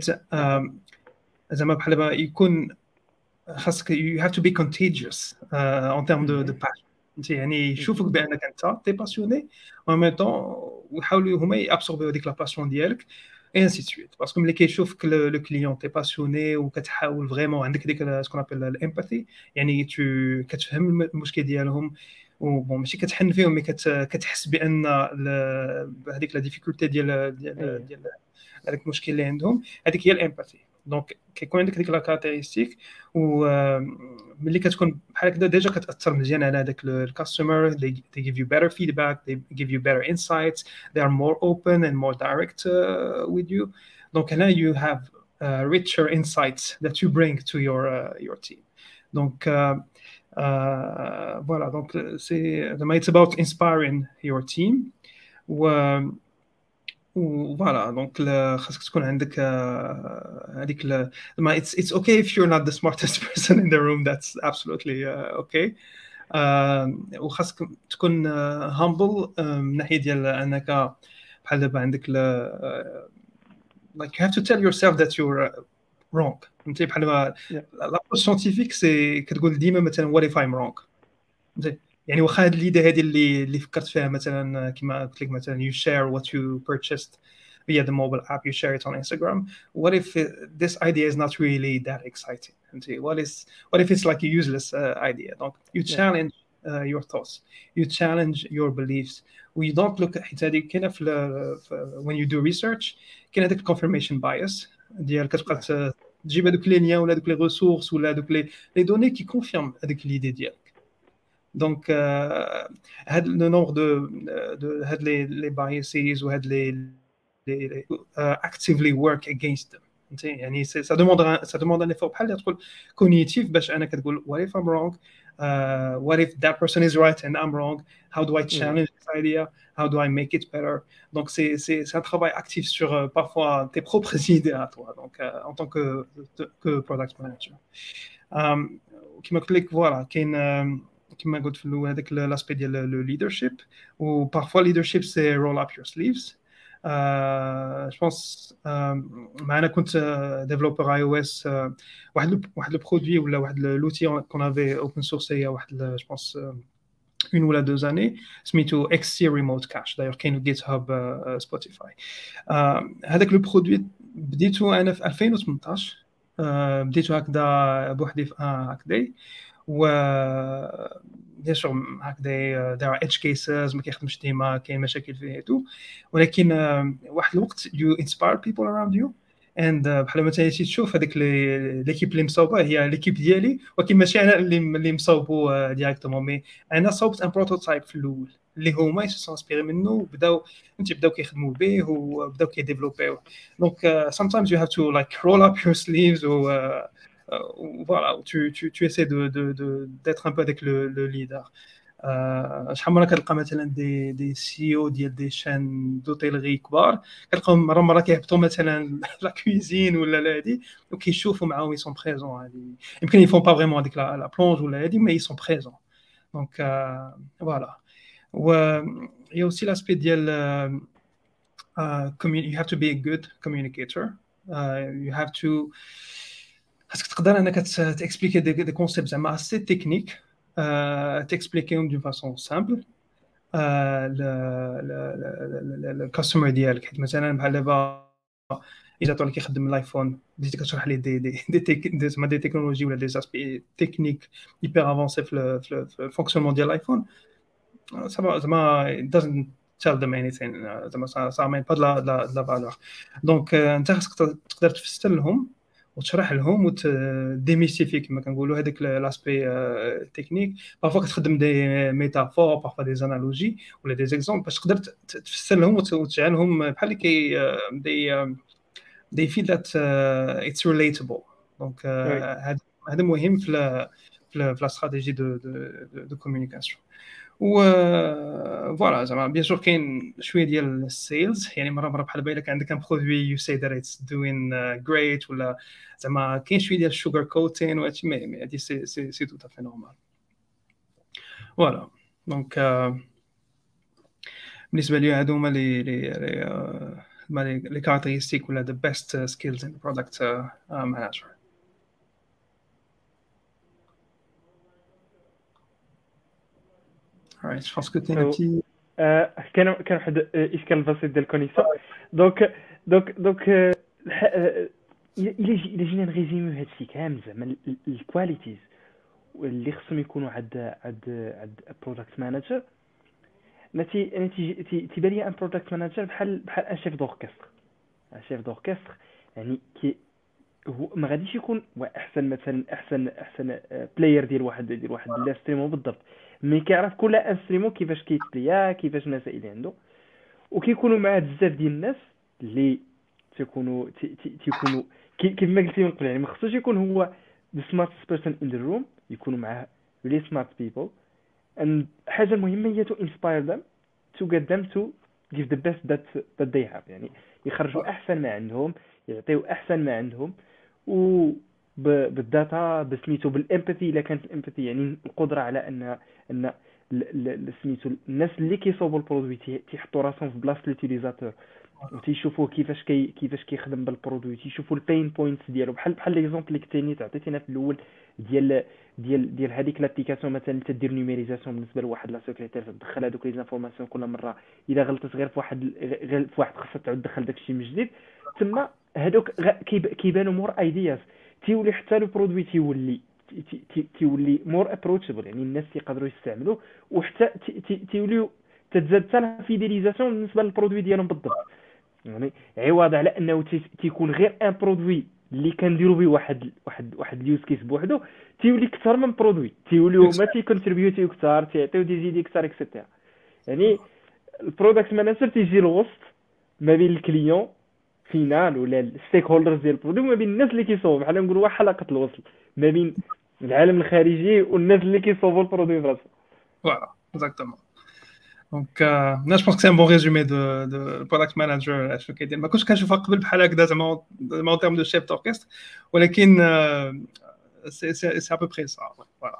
زعما بحال دابا يكون خاصك you have to be contagious uh, en termes de, de passion. يعني يشوفوك بانك انت تي باسيوني و ميم طون ويحاولوا هما يابسوربيو هذيك لا باسيون ديالك اي انسي سويت، باسكو ملي كيشوفك لو كليون تي باسيوني وكتحاول فريمون عندك ديك سكون ابل الامباثي، يعني تو كتفهم المشكل ديالهم وبون ماشي كتحن فيهم مي كتحس بان هذيك لا ديفيكولتي ديال ديال ديال هذاك المشكل اللي عندهم، هذيك هي الامباثي. دونك كيكون عندك ديك لا كاركتيرستيك و ملي كتكون بحال هكذا ديجا كتاثر مزيان على هذاك الكاستمر. they, they give you better feedback, they give you better insights, they are more open and more direct uh, with you. Donc là you have uh, richer insights that you bring to your uh, your team. Donc uh, uh, voilà, donc c'est it's about inspiring your team. و فوالا دونك خاصك تكون عندك هذيك ما it's it's okay if you're not the smartest person in the room, that's absolutely uh, okay. uh, وخاصك تكون uh, humble uh, من ناحيه ديال انك بحال دابا عندك uh, like you have to tell yourself that you're uh, wrong. فهمتي بحال دابا لابروش سيانتيفيك سي كتقول ديما مثلا what if I'm wrong. فهمتي يعني واخا هاد ليدي هذه اللي اللي فكرت فيها مثلا كما قلت لك مثلا you share what you purchased via the mobile app, you share it on Instagram. What if it, this idea is not really that exciting? What is what if it's like a useless uh, idea? Donc you challenge uh, your thoughts, you challenge your beliefs. We don't look at هذه كاينه في when you do research كاين هذاك confirmation bias ديال كتبقى تجيب هذوك لي ليان ولا هذوك لي ريسورس ولا هذوك لي لي دوني كي كونفيرم هذيك ليدي ديالك. Donc, euh, le nombre de, de, de les, les biases ou les, les, les uh, actively work against them. يعني ça demande un, ça demande un effort بحال تقول cognitive باش أنا كتقول what if I'm wrong, uh, what if that person is right and I'm wrong, how do I challenge this idea, how do I make it better. Donc c'est c'est c'est un travail actif sur uh, parfois tes propres idées à toi. Donc uh, en tant que que product manager. Um, كما قلت لك voilà كاين كما قلت في الاول هذاك لاسبي ديال لو ليدرشيب و بارفوا ليدرشيب سي رول اب يور سليفز. جو بونس معنا كنت ديفلوبر اي او اس واحد واحد لو برودوي ولا واحد لوتي كون افي اوبن سورس هي واحد جو بونس اون ولا دو زاني سميتو اكس سي ريموت كاش. داير كاين جيت هاب سبوتيفاي. هذاك لو برودوي بديتو انا في ألفين وثمنطاش. بديتو هكذا بوحدي في هكذا و بيان سور هكذا دار ايدج كيسز ما كيخدمش ديما كاين مشاكل فيه تو، ولكن واحد الوقت you inspire people around you and بحال مثلا تشوف هذيك ليكيب اللي مصوبه هي ليكيب ديالي ولكن ماشي انا اللي اللي مصوبو ديريكتومون مي انا صوبت ان بروتوتايب في الاول. اللي هما يسو انسبيري منه وبداو انت بداو كيخدموا به وبداو كيديفلوبيو. دونك uh, sometimes you have to like roll up your sleeves ou uh, uh, voilà tu tu tu essaies de de de d'être un peu avec le le leader. آه، شحال مره كتلقى مثلا دي دي سي او ديال دي شان دوتيلغي كبار كتلقاهم مره مره كيهبطوا مثلا لا كويزين ولا لا هادي وكيشوفوا معاهم يسون بريزون هادي يمكن يفون با فريمون هذيك لا بلونج ولا هادي مي يسون بريزون. دونك فوالا. و يا اوسي لاسبي ديال you have to be a good communicator. uh, you have to خاصك تقدر انك تاكسبليكي دي كونسيبت زعما اسي تكنيك تاكسبليكيهم دون فاسون سامبل الكاستمر ديالك. حيت مثلا بحال دابا اذا طول كيخدم الايفون بديتي كتشرح ليه دي دي دي زعما دي تكنولوجي ولا دي اسبي تكنيك هيبر افونسي في في الفونكسيونمون ديال الايفون زعما زعما doesn't tell them anything زعما ça amène pas de la de la valeur. دونك انت خاصك تقدر تفسر لهم وتشرح لهم وتديميستيفي كما كنقولوا هذاك لاسبي تكنيك. بارفو كتخدم دي ميتافور بارفو دي زانالوجي ولا دي زيكزامبل باش تقدر تفسر لهم وتجعلهم بحال كي دي دي فيل ذات اتس ريليتابل. دونك هذا هذا مهم في في لا استراتيجي دو دو دو كومونيكاسيون. و فوالا زعما بيان سور كاين شويه ديال السيلز يعني مره مره بحال بالك عندك ان برودوي يو سي ذات اتس دوين جريت ولا زعما كاين شويه ديال الشوغر كوتين وهادشي مي هادي سي سي سي تو تافي نورمال. فوالا دونك بالنسبه لي هادو هما لي لي لي لي كاركتيرستيك ولا ذا بيست سكيلز ان برودكت مانجر. Alright, je pense que tu as un petit... كان كان واحد الاشكال بسيط ديال الكونيكسيون. دونك دونك دونك الا الا جينا نريزيميو هادشي كامل زعما الكواليتيز اللي خصهم يكونوا عند عند عند برودكت مانجر. نتي نتي تيبان لي ان برودكت مانجر بحال بحال ان شيف دوركستر. ان شيف دوركستر يعني كي هو ما غاديش يكون احسن مثلا احسن احسن بلاير ديال واحد ديال واحد الاستريمو بالضبط، مي كيعرف كل انستريمو كيفاش كيتبليا كيفاش المسائل اللي عنده. وكيكونوا معاه بزاف ديال الناس اللي تيكونوا تيكونوا كيف ما قلتي من قبل يعني ما خصوش يكون هو the smartest person in the room، يكونوا معاه really smart people. and حاجه المهمه هي to inspire them to get them to give the best that that they have، يعني يخرجوا احسن ما عندهم، يعطيو احسن ما عندهم. و بالداتا بسميتو بالامباثي الا كانت الامباثي يعني القدره على ان ان سميتو الناس اللي كيصوبوا البرودوي تيحطوا راسهم في بلاصه اليوتيليزاتور وتيشوفوا كيفاش كي كيفاش كيخدم بالبرودوي، تيشوفوا البين بوينتس ديالو. بحال بحال ليكزامبل اللي كنتي تعطيتينا في الاول ديال ديال ديال هذيك لابليكاسيون مثلا تدير نيميريزاسيون بالنسبه لواحد لا سيكريتير تدخل هذوك لي زانفورماسيون كل مره الا غلطت غير في واحد غير في واحد خاصها تعاود تدخل داكشي من جديد. تما هذوك كيبانوا مور ايدياز، تيولي حتى لو برودوي تيولي تيولي مور ابروتشابل، يعني الناس يقدروا يستعملوه وحتى تيوليو تتزاد حتى لا فيديليزاسيون بالنسبه للبرودوي ديالهم بالضبط. يعني عوض على انه تيكون غير ان برودوي اللي كنديروا به واحد واحد واحد اليوز كيس بوحدو تيولي اكثر من برودوي، تيوليو ما تيكونتريبيوتيو اكثر، تيعطيو دي زيدي اكثر اكسيتيرا. يعني البرودكت مانجر تيجي الوسط ما بين الكليون فينال ولا الستيك هولدرز ديال البرودوي وما بين الناس اللي كيصوبوا، بحال نقولوا واحد حلقه الوصل ما بين العالم الخارجي والناس اللي كيصوبوا البرودوي فراسهم. فوالا اكزاكتومون. دونك انا جو بونس كو سي ان بون ريزومي دو دو برودكت مانجر اشنو كيدير. ما كنتش كنشوفها قبل بحال هكذا زعما زعما تيرم دو شيف دوركستر، ولكن سي سي سي ا بو بري سا. فوالا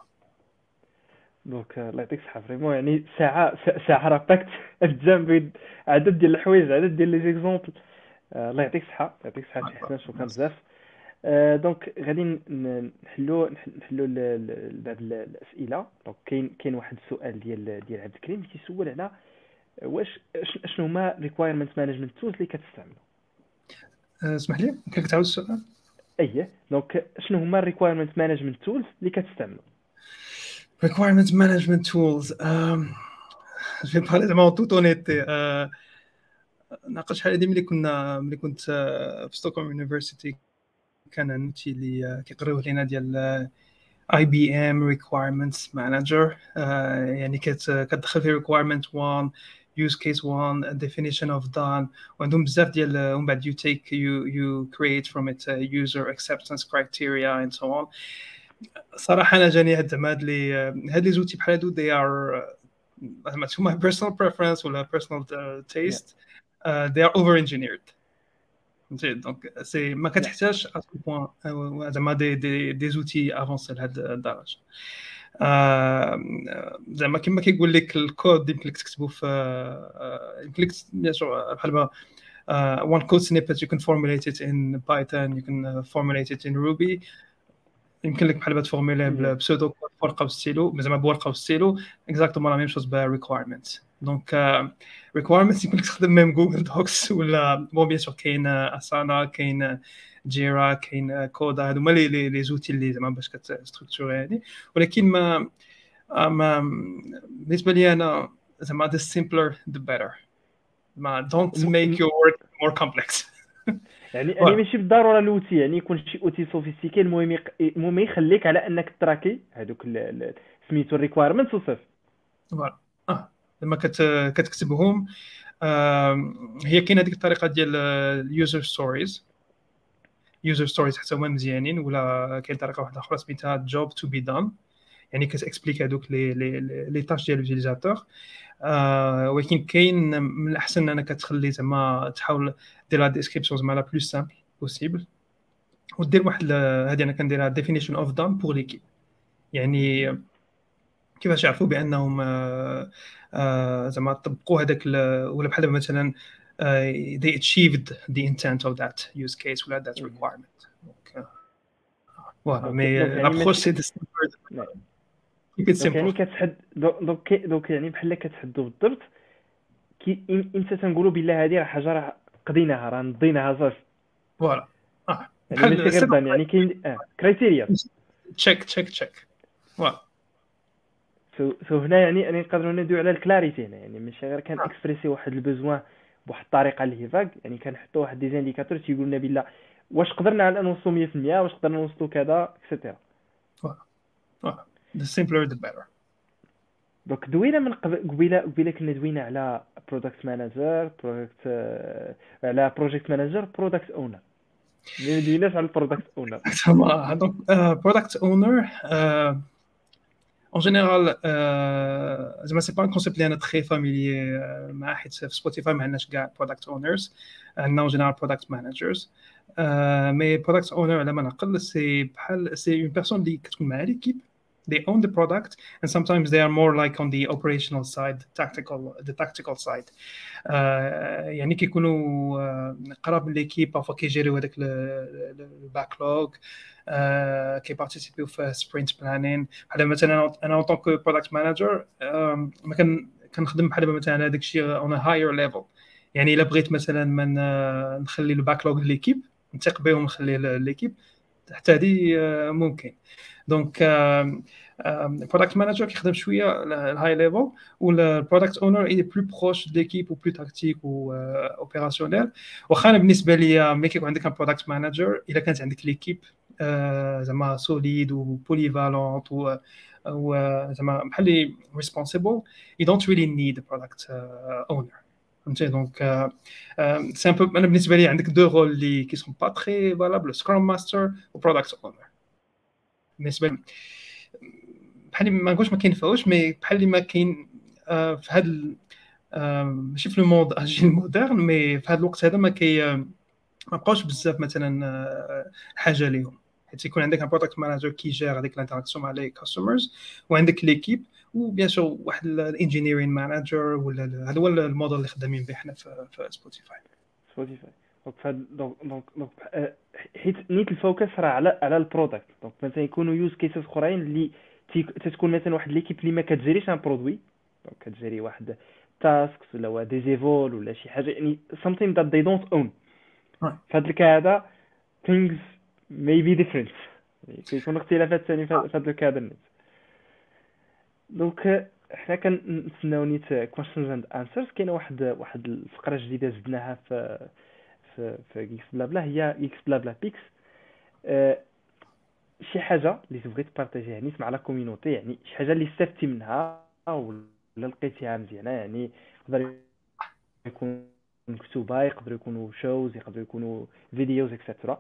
دونك الله يعطيك الصحه فريمون، يعني ساعه ساعه راباكت الجنب عدد ديال الحوايج عدد ديال لي زيكزامبل. الله يعطيك الصحه يعطيك الصحه حسنا، شكرا بزاف. دونك غادي نحلوا نحلوا بعض الاسئله. دونك كاين كاين واحد السؤال ديال ديال عبد الكريم كيسول على واش شنو هما ريكوايرمنت مانجمنت تولز اللي كتستعملوا. اسمح لي ممكن تعاود السؤال؟ اييه دونك شنو هما ريكوايرمنت مانجمنت تولز اللي كتستعملوا. requirement management tools um, je vais parler زعما tout honnêteté. uh, ناقش شحال هادي ملي كنا ملي كنت في ستوكهولم يونيفرسيتي كان نوتي اللي كيقريوه لينا ديال اي بي ام requirements manager. آه، يعني كت كتدخل في requirement one, use case one, definition of done، وعندهم بزاف ديال ومن بعد you take you you create from it a user acceptance criteria and so on. صراحه انا جاني هاد زعما هاد لي هاد لي زوتي بحال هادو they are زعما to my personal preference ولا personal uh, taste uh, they are over engineered. فهمتي دونك سي ما كتحتاجش ا بوين زعما دي دي دي زوتي افونسي لهاد الدرجه. آه، زعما كما كيقول لك الكود يمكن لك تكتبه في آه، يمكن لك بيان سور بحال ما one code snippet you can formulate it in Python, you can uh, formulate it in Ruby. يمكن لك بحال تفورموليه بسودو كود ورقه وستيلو زعما بورقه وستيلو اكزاكتومون لا ميم شوز بريكوايرمنت. دونك ريكوايرمنت يمكن لك تخدم ميم جوجل دوكس ولا بون بيان سور كاين اسانا كاين جيرا كاين كودا هادو هما لي لي زوتي اللي زعما باش كتستركتوري يعني. ولكن ما ما بالنسبه لي انا زعما the simpler the better. ما don't make your work more complex. يعني يعني ماشي بالضروره الاوتي يعني يكون شي اوتي سوفيستيكي، المهم يق... المهم يخليك على انك تراكي هذوك سميتو الريكوايرمنتس وصافي. فوالا اه لما كت... كتكتبهم آه... هي كاينه هذيك الطريقه ديال اليوزر ستوريز يوزر ستوريز حتى هما مزيانين، ولا كاين طريقه واحده اخرى سميتها جوب تو بي دون، يعني كتاكسبليك هذوك لي لي لي تاش ديال اليوتيليزاتور. آه ولكن كاين من الاحسن انك تخلي زعما تحاول دير لا ديسكريبسيون زعما لا بلو سامبل بوسيبل، ودير واحد هذه انا كنديرها ديفينيشن اوف دون بور ليكيب، يعني كيفاش يعرفوا بانهم آه آه زعما طبقوا هذاك ولا بحال مثلا آه they achieved the intent of that use case ولا that requirement. دونك فوالا مي لابروش سي دونك يعني كتحد دونك دونك يعني بحال كتحدوا بالضبط كي امتى تنقولوا بالله هذه راه حاجه راه قضيناها راه نضيناها صافي. فوالا اه يعني ماشي غير دان يعني كاين اه كرايتيريا تشيك تشيك تشيك. فوالا سو سو هنا يعني يعني نقدروا ندويو على الكلاريتي هنا، يعني ماشي غير كان اكسبريسي واحد البوزوان بواحد الطريقه اللي هي فاك، يعني كنحطوا واحد دي زانديكاتور تيقول لنا بالله واش قدرنا على نوصلوا مية في المية، واش قدرنا نوصلوا كذا اكسيتيرا. فوالا فوالا the simpler the better. دونك دوينا من قبيله قبيله كنا دوينا على برودكت مانجر برودكت على بروجيكت مانجر برودكت اونر، ما دويناش على البرودكت اونر. دونك برودكت اونر en général زعما سي با ان كونسيبت اللي انا تري فاميليي مع، حيت في سبوتيفاي ما عندناش كاع برودكت اونرز، عندنا en général برودكت مانجرز. مي برودكت اونر على ما نعقل سي بحال سي اون بيرسون اللي كتكون مع ليكيب they own the product and sometimes they are more like on the operational side, tactical the tactical side. uh, يعني كيكونوا uh, قراب من ليكيب بارفوا كيجيريو هذاك الباكلوغ uh, كيبارتيسيبيو في سبرينت بلانين. بحال مثلا انا اون طونك برودكت مانجر ما كان كنخدم بحال مثلا هذاك الشيء اون هاير ليفل، يعني الا بغيت مثلا من نخلي الباكلوغ ليكيب نثق بهم نخلي ليكيب حتى هذه ممكن. دونك البرودكت مانجر كيخدم شويه الهاي ليفل، والبرودكت اونر اي بلو بروش ديكيب وبلو تاكتيك و اوبيراسيونيل. واخا انا بالنسبه ليا ملي كيكون عندك ان برودكت مانجر الا كانت عندك ليكيب زعما سوليد وبوليفالونت و زعما بحال ريسبونسيبل you don't really need a product owner. فهمتي دونك سي ان بو انا بالنسبه لي عندك دو رول اللي كي سون با تري فالابل، سكرام ماستر وبرودكت اونر. بالنسبه لي بحال ما نقولش ما كاينفعوش، مي بحال ما كاين في هذا ماشي في المود اجيل مودرن، مي في هذا الوقت هذا ما كي ما بقاوش بزاف مثلا حاجه ليهم، حيت يكون عندك ان برودكت مانجر كي جير هذيك الانتراكسيون مع لي كاستمرز، وعندك ليكيب وبيان سور واحد الانجينيرين مانجر، ولا هذا هو الموديل اللي خدامين به حنا في سبوتيفاي. سبوتيفاي دونك دونك دونك حيت نيت الفوكس راه على على البرودكت. دونك مثلا يكونوا يوز كيسز اخرين اللي تتكون مثلا واحد ليكيب اللي ما كتجريش ان برودوي، دونك كتجري واحد تاسكس ولا دي زيفول ولا شي حاجه، يعني something that they don't own. في هذا الكا هذا things may be different، كيكون اختلافات ثاني في هذا الكا هذا. دونك حنا كنتسناو نيت questions and answers. كاينه واحد واحد الفقره جديده زدناها في في في جيكس بلا بلا، هي جيكس بلا بلا بيكس. شي حاجه اللي تبغي تبارطاجيها يعني مع لا كوميونيتي، يعني شي حاجه اللي استفدتي منها ولا لقيتيها مزيانه، يعني يقدر يكون مكتوبه، يقدروا يكونوا شوز، يقدروا يكونوا فيديوز اكسترا.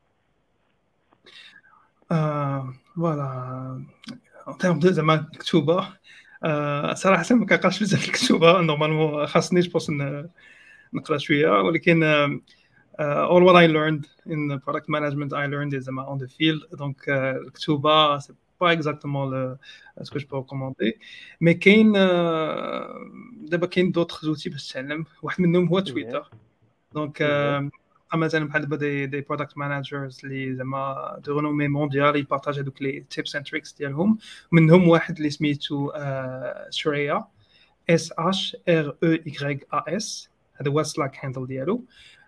آه فوالا ان تيرم دو زعما الكتوبه. آه صراحه ما كنقراش بزاف الكتوبه نورمالمون، خاصني جوبونس نقرا شويه، ولكن uh, all what I learned in the product management I learned is زعما on the field. donc uh, الكتوبه c'est pas exactement le, ce que je peux recommander. mais كاين uh, دابا كاين d'autres outils باش تتعلم، واحد منهم هو ايه تويتر. دونك ايه مثلا بحال دابا دي دي برودكت مانجرز اللي زعما دو رينومي مونديال يبارطاج هذوك لي تيبس اند تريكس ديالهم. منهم واحد اللي سميتو شريا، اس اش ار او واي ا اس، هذا هو سلاك هاندل ديالو.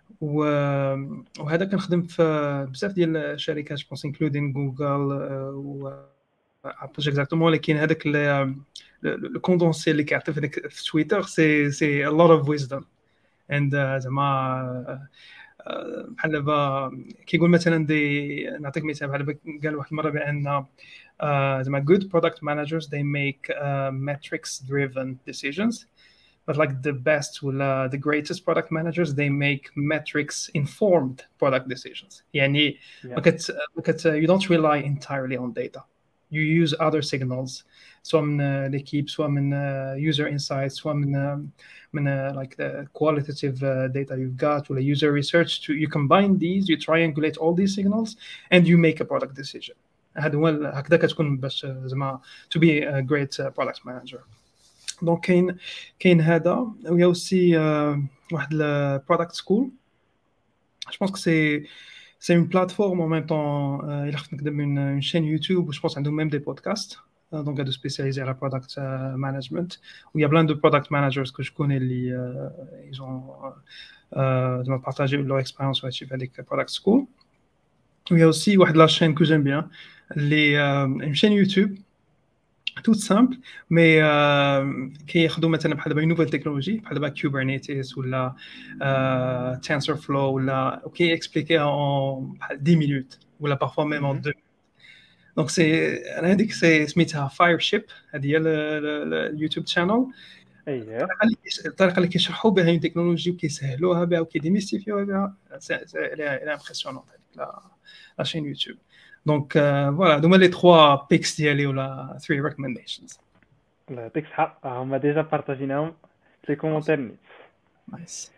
وهذا كنخدم في بزاف ديال الشركات بونس انكلودين جوجل و ابل اكزاكتومون. لكن هذاك لو كوندونسي اللي كيعطي في داك في تويتر سي سي ا لوت اوف ويزدم. اند زعما بحال دابا كيقول مثلا دي، نعطيك مثال بحال دابا قال واحد المره بان زعما good product managers they make uh, metrics driven decisions, but like the best ولا the greatest product managers they make metrics informed product decisions. يعني ما yeah كت ما كت you don't rely entirely on data, you use other signals، سواء من l'équipe سواء من user insights سواء من من like the qualitative data you've got ولا user research to you combine these, you triangulate all these signals and you make a product decision. هذا هو هكذا كتكون باش زعما to be a great product manager. دونك كاين كاين هذا. ويا اوسي واحد البرودكت سكول، جو بونس كو سي سي اون بلاتفورم en même temps. الا خفت نكتب une chaîne YouTube, je pense عندهم même des podcasts donc هادو spécialisés على product management. و il y a plein de product managers que je connais اللي ils ont زعما partagé leur expérience وهادشي في هذيك product school. ويا اوسي واحد لا chaîne que j'aime bien اللي une chaîne YouTube tout simple mais كياخذوا مثلا بحال دابا نوفيل تكنولوجي بحال دابا كوبرنيتيس ولا تنسور فلو ولا اوكي اكسبليكيها اون بحال عشر minutes ولا بارفوا ميم اون deux. دونك سي انا هذيك سي سميتها فاير شيب، هذه هي اليوتيوب شانل. ايه الطريقه اللي كيشرحوا بها التكنولوجي وكيسهلوها بها وكيديميستيفيوها بها الى امبرسيونون هذيك لا شين يوتيوب. دونك فوالا هذوما لي ثلاثة بيكس ديالي ولا ثلاثة ريكومنديشنز. الله يعطيك الصحة، هما ديجا بارطاجيناهم في كومونتير نيت. نايس.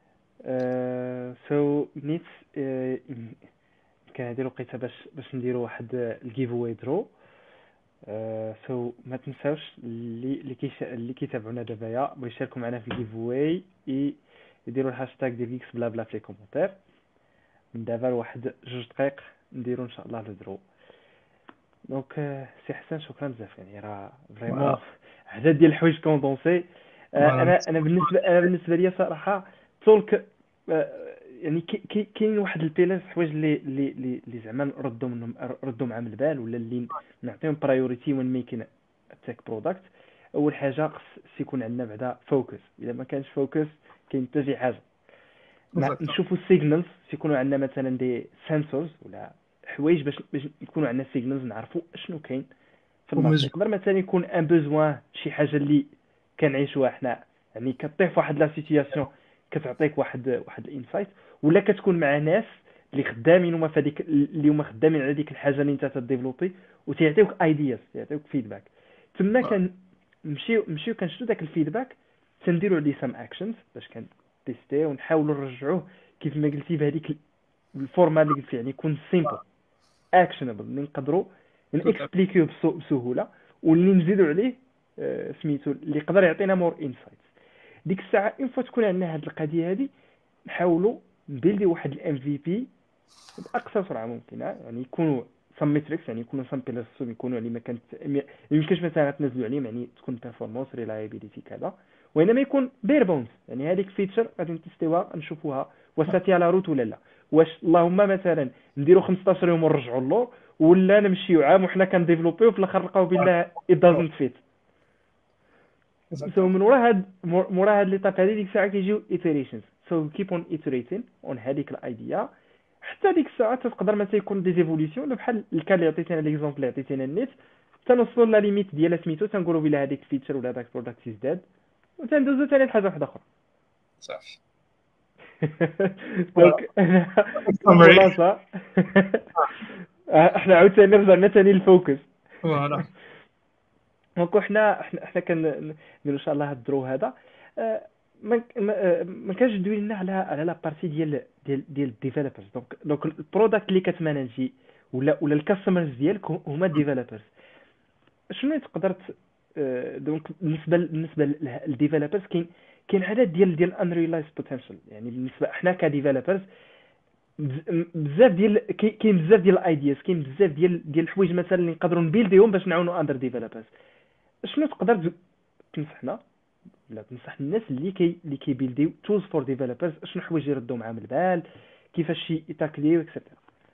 سو نيت كان هادي الوقيته باش باش نديروا واحد الجيف اواي درو. سو ما تنساوش اللي اللي كيش اللي كيتابعونا دابا بغا يشاركوا معنا في الجيف اواي يديروا الهاشتاغ ديال جيكس بلا بلا في لي كومونتير. من دابا لواحد جوج دقائق نديروا ان شاء الله لو درو. دونك سي حسن شكرا بزاف، يعني راه فريمون عدد ديال الحوايج كوندونسي. انا انا بالنسبه انا بالنسبه لي صراحه تولك يعني كاين واحد البيلاس حوايج اللي اللي اللي زعما نردوا منهم ردوا مع من البال ولا اللي نعطيهم برايوريتي وين ميكين تيك برودكت. اول حاجه خص يكون عندنا بعدا فوكس، الا ما كانش فوكس كاين حتى شي حاجه. نشوفوا السيجنالز يكونوا عندنا مثلا دي سنسورز ولا حوايج باش باش يكونوا عندنا سيجنالز نعرفوا شنو كاين في الماركت. يقدر مثلا يكون ان بوزوان شي حاجه اللي كنعيشوها حنا، يعني كطيح في واحد لا سيتوياسيون كتعطيك واحد واحد الانسايت، ولا كتكون مع ناس اللي خدامين هما في هذيك اللي هما خدامين على ديك الحاجه اللي انت تديفلوبي وتيعطيوك ايدياز يعطيوك فيدباك. تما كنمشيو نمشيو كنشدو داك الفيدباك تنديروا عليه سام اكشنز باش كنتيستي ونحاولوا نرجعوه كيف ما قلتي بهذيك الفورما اللي قلت، يعني يكون سيمبل اكشنبل اللي نقدروا نكسبليكيو بسهوله واللي نزيدوا عليه آه سميتو اللي يقدر يعطينا مور انسايتس. ديك الساعه ان فوا تكون عندنا هذه القضيه هذه نحاولوا نبيلدي واحد الام في بي باقصى سرعه ممكنه، يعني يكونوا سم ميتريكس، يعني يكونوا سم بيلس يكونوا اللي ما كانت يمكنش مثلا تنزلوا عليهم، يعني تكون بيرفورمانس ريلايبيليتي كذا، وانما يكون بير بونز، يعني هذيك فيتشر غادي نتستيوها نشوفوها واش ساتي على روت ولا لا، واش اللهم مثلا نديروا خمسطاش يوم ونرجعوا له ولا نمشيو عام وحنا كنديفلوبيو في الاخر نلقاو بالله it doesn't fit. so من ورا هاد مورا هاد ليطاب هذه ديك الساعه كيجيو iterations, so keep on iterating on هذيك الايديا حتى ديك الساعه تقدر ما تيكون دي زيفوليسيون بحال الكال اللي عطيتينا ليكزومبل اللي عطيتينا النيت، تنوصلوا لا ليميت ديال سميتو تنقولوا بلا هذيك فيتشر ولا هذاك برودكت ازداد وتندوزو ثاني لحاجه واحده اخرى. صافي دونك summary. الخلاصه احنا عاوتاني رجعنا ثاني للفوكس. فوالا دونك حنا حنا حنا كنديروا ان شاء الله هاد الدرو هذا آه، ما ما ما كانش دوينا على على لا بارتي ديال ديال ديال الديفلوبرز. دونك دونك البرودكت اللي كتمانجي ولا ولا الكاستمرز ديالك هما الديفلوبرز. شنو تقدر ت- آه، دونك بالنسبه بالنسبه للديفلوبرز كاين كاين عدد ديال ديال انريلايز بوتنشال. يعني بالنسبه احنا كديفلوبرز بزاف ديال كاين كاين بزاف ديال الايدياز، كاين بزاف ديال ديال الحوايج مثلا اللي نقدروا نبيلديهم باش نعاونوا اندر ديفلوبرز. شنو تقدر ت- تنصحنا ولا تنصح الناس اللي كي اللي كيبيلديو تولز فور ديفلوبرز شنو حوايج يردوا معاهم البال، كيفاش يتاكليو اكسيتيرا؟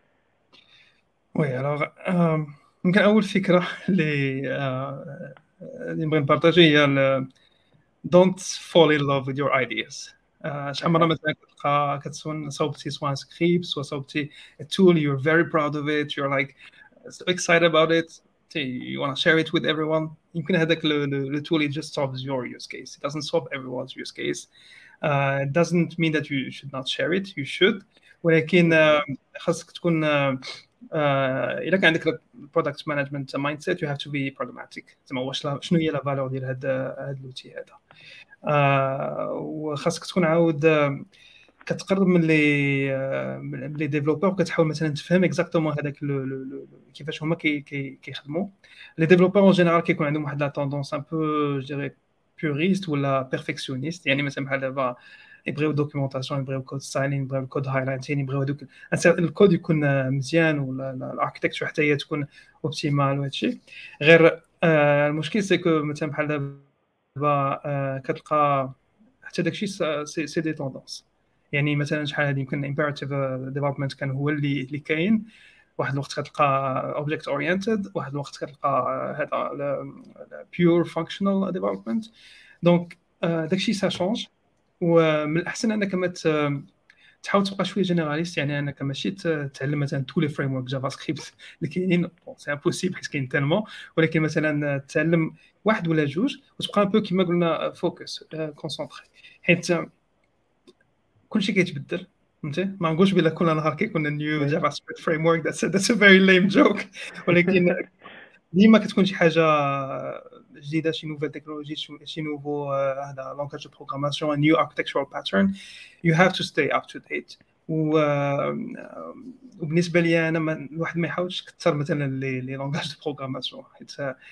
وي الوغ يمكن اول فكره اللي آه، اللي نبغي نبارطاجي هي ال- don't fall in love with your ideas. آه، شحال مره مثلا كتلقى كتسون صوبتي سواء سكريبت سواء صوبتي a tool you're very proud of it, you're like so excited about it, you want to share it with everyone. يمكن هذاك ال tool it just solves your use case, it doesn't solve everyone's use case. Uh, it doesn't mean that you should not share it, you should, ولكن آه، خاصك تكون آه، آه، الا كان عندك البرودكت مانجمنت مايند سيت you have to be pragmatic. زعما واش لا- شنو هي لا فالور ديال هذا هذا اللوتي هذا. آه، وخاصك تكون عاود آه، كتقرب من لي آه، من لي ديفلوبور وكتحاول مثلا تفهم اكزاكتومون هذاك لو- لو- لو- كيفاش هما كي- كي- كيخدموا. لي ديفلوبور اون جينيرال كيكون عندهم واحد لا توندونس ان بو جو ديري بيوريست ولا بيرفكسيونيست. يعني مثلا بحال دابا يبغيو دوكيومونطاسيون، يبغيو كود ستايلين، يبغيو الكود هايلايتين، يبغيو هذوك الكود يكون آه، مزيان ولا الاركتكتشر حتى هي تكون اوبتيمال وهادشي. غير آه، المشكل سي كو مثلا بحال دابا آه، كتلقى حتى داكشي سي سي دي توندونس. يعني مثلا شحال هذه يمكن امبيراتيف ديفلوبمنت كان هو اللي اللي كاين، واحد الوقت كتلقى اوبجكت اورينتد، واحد الوقت كتلقى هذا بيور فانكشنال ديفلوبمنت. دونك داكشي سا شونج. ومن الاحسن انك ما ت- تحاول تبقى شويه جينيراليست. يعني انك ماشي ت- تعلم مثلا تو لي فريم ورك جافا سكريبت اللي كاينين، بون سي امبوسيبل حيت كاين تالمون، ولكن مثلا تعلم واحد ولا جوج وتبقى ان بو كيما قلنا فوكس كونسونطري. حيت كلشي كيتبدل، فهمتي. ما نقولش بلا كل نهار كيكون نيو جافا سكريبت فريم ورك، ذاتس ذاتس ا فيري ليم جوك، ولكن ديما كتكون شي حاجه جديده، شي نوفيل تكنولوجي، شي نوفو هذا لونغاج دو بروغراماسيون، نيو اركتكتشرال باترن، يو هاف تو ستاي اب تو ديت. وبالنسبه لي انا ما الواحد ما يحاولش يكثر مثلا لي لي لونغاج دو بروغراماسيون، حيت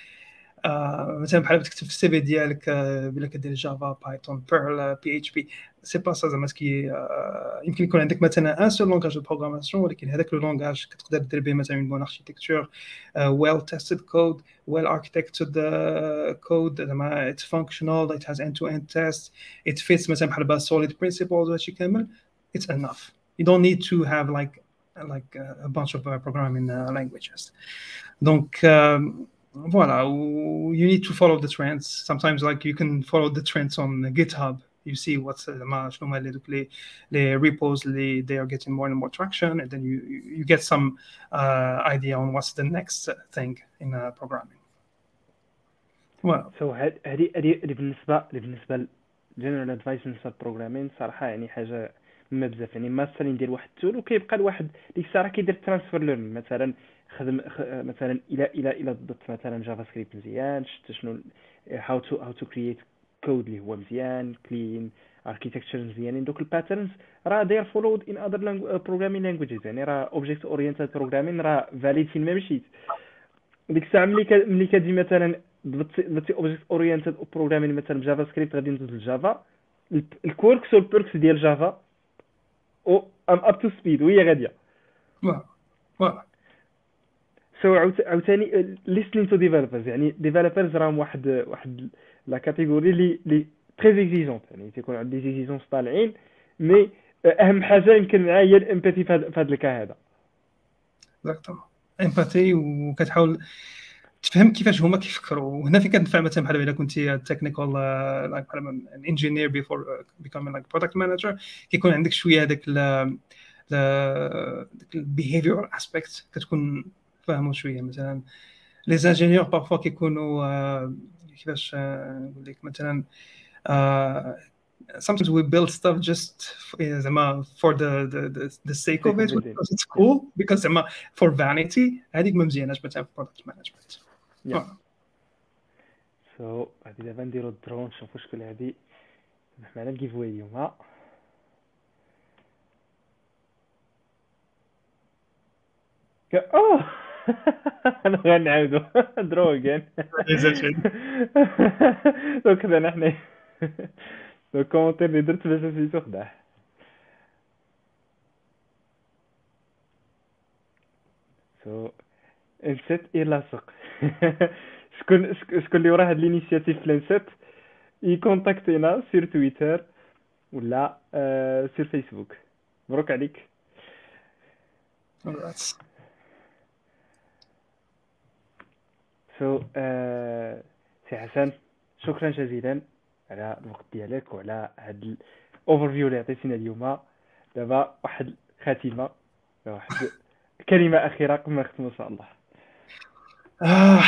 آه مثلا بحال تكتب في السي في ديالك آه بلا كدير جافا بايثون بيرل بي اتش بي، سي با سا زعما كي آه يمكن يكون عندك مثلا ان سول لونغاج دو بروغراماسيون، ولكن هذاك لو لونغاج كتقدر دير به مثلا اون بون اركيتكتور، ويل تيستد كود، ويل اركيتكتد كود، زعما اتس فانكشنال، ات هاز اند تو اند تيست، ات فيتس مثلا بحال با سوليد برينسيبلز وهادشي كامل. اتس انف. You don't need to have like like a bunch of uh, programming uh, languages. Donc um, voilà, you need to follow the trends. Sometimes like you can follow the trends on GitHub. You see what's uh, شنو هما لي لي repos اللي they are getting more and more traction, and then you you get some uh, idea on what's the next thing in uh, programming. Well, سو هذه هذه اللي بالنسبه اللي بالنسبه للجنرال ادفايس بالنسبه للبروغرامين صراحه يعني حاجه مهمه بزاف. يعني مثلا ندير واحد التول وكيبقى الواحد ديك الساعه كيدير ترانسفير ليرنين، مثلا خدم خ... مثلا الى الى الى ضبط مثلا جافا سكريبت مزيان، شفت شنو هاو تو هاو تو كرييت كود اللي هو مزيان كلين اركيتكتشر مزيانين. دوك الباترنز راه داير فولود ان اذر بروغرامين لانجويجز. يعني راه اوبجيكت اورينتد بروغرامين راه فاليد فين ما مشيت. ديك الساعه ملي ك... ملي كتجي مثلا ضبطتي ضبطتي اوبجيكت اورينتد بروغرامين مثلا بجافا سكريبت غادي ندوز للجافا، الكوركس والبيركس ديال جافا او ام اب تو سبيد وهي غاديه. well, well. سو عاوتاني listening to developers. يعني developers راهم واحد واحد لا كاتيجوري اللي اللي تري اكزيجونت، يعني تيكون عندي اكزيجونس طالعين، مي اهم حاجه يمكن معايا هي الامباثي في هذا الكا هذا. اكزاكتومون امباثي، وكتحاول تفهم كيفاش هما كيفكروا. وهنا فين كتنفع مثلا بحال الا كنتي تكنيكال لايك بحال ان انجينير بيفور بيكومين لايك برودكت مانجر، كيكون عندك شويه هذاك البيهيفيور اسبيكت كتكون فاهمو شويه. مثلا لي زانجينيور بارفوا كيكونوا آه، كيفاش آه، نقول لك مثلا آه، sometimes we build stuff just f- yeah, زعما for the the the, the sake of سيكو it بدين. because it's cool because زعما for vanity هذيك ما مزياناش مثلا في product management. يا آه. سو غادي دابا نديرو الدرون نشوفو شكون غادي يربح معنا الجيف واي اليوم. ك... اوه انا غنعاودو درو اجين. Exaggerate. دونك خدانا حنا دونك كومونتير اللي درت باش نسيتو خداه. سو انسيت اي لاصق. شكون شكون اللي وراه هاد الانيشياتيف لانسيت يكونتاكتينا سير تويتر ولا آه سير فيسبوك. مبروك عليك. Congrats. سو so, آه سي حسن شكرا جزيلا على الوقت ديالك وعلى هاد الاوفر فيو اللي عطيتينا اليوم. دابا واحد خاتمه واحد كلمه اخيره قبل ما نختموا ان شاء الله. آه.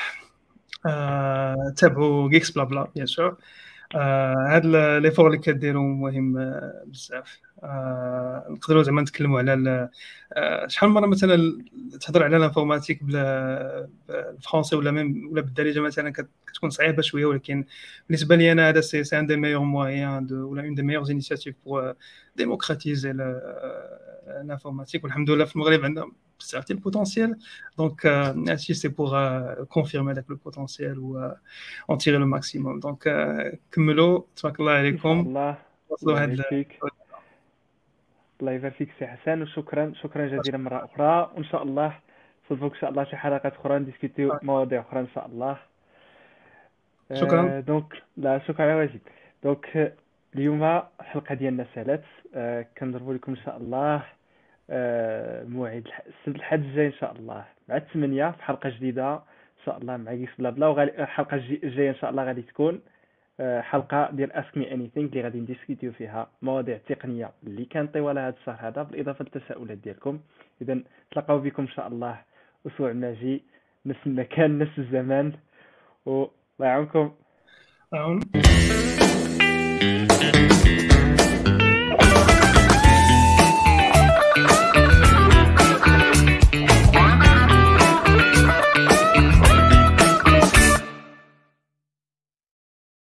آه. تابعوا جيكس بلا بلا بيان سور. هاد لي فور اللي كديروا مهم آه، بزاف. آه، نقدروا زعما نتكلموا على ال- آه، شحال من مره مثلا تهضر على الانفورماتيك بلا بالفرونسي ولا ميم ولا بالدارجه مثلا كت- كتكون صعيبه شويه، ولكن بالنسبه لي انا هذا سي سي ان دي ميور مويان دو ولا اون دي ميور انيشياتيف بور ديموكراتيزي الانفورماتيك. والحمد لله في المغرب عندنا بزاف ديال البوتونسيال. دونك هادشي سي بور كونفيرمي داك لو بوتونسيال و en tirer le maximum. Donc, euh, كملوا تبارك الله ان شاء عليكم. الله. وصلوا الله هاد يبارك ال- فيك. الله يبارك فيك سي حسن وشكرا شكرا جزيلا مره اخرى. وان شاء الله نصدفوك ان شاء الله شي حلقات اخرى نديسكوتيو مواضيع اخرى ان شاء الله. شكرا. آه دونك لا شكرا على واجب. دونك آه، اليوم الحلقه ديالنا سالات. آه كنضربوا لكم ان شاء الله آه موعد الح- السبت الحد الجاي ان شاء الله مع الثمانية في حلقه جديده ان شاء الله مع كيس بلا بلا. وغالي الحلقه الجي- الجايه ان شاء الله غادي تكون آه، حلقه ديال اسك مي اني ثينك اللي غادي نديسكوتيو فيها مواضيع تقنيه اللي كان طوال هذا الشهر هذا بالاضافه للتساؤلات ديالكم. اذا تلقاو بكم ان شاء الله اسبوع ماجي نفس المكان نفس الزمان والله يعاونكم. أعون.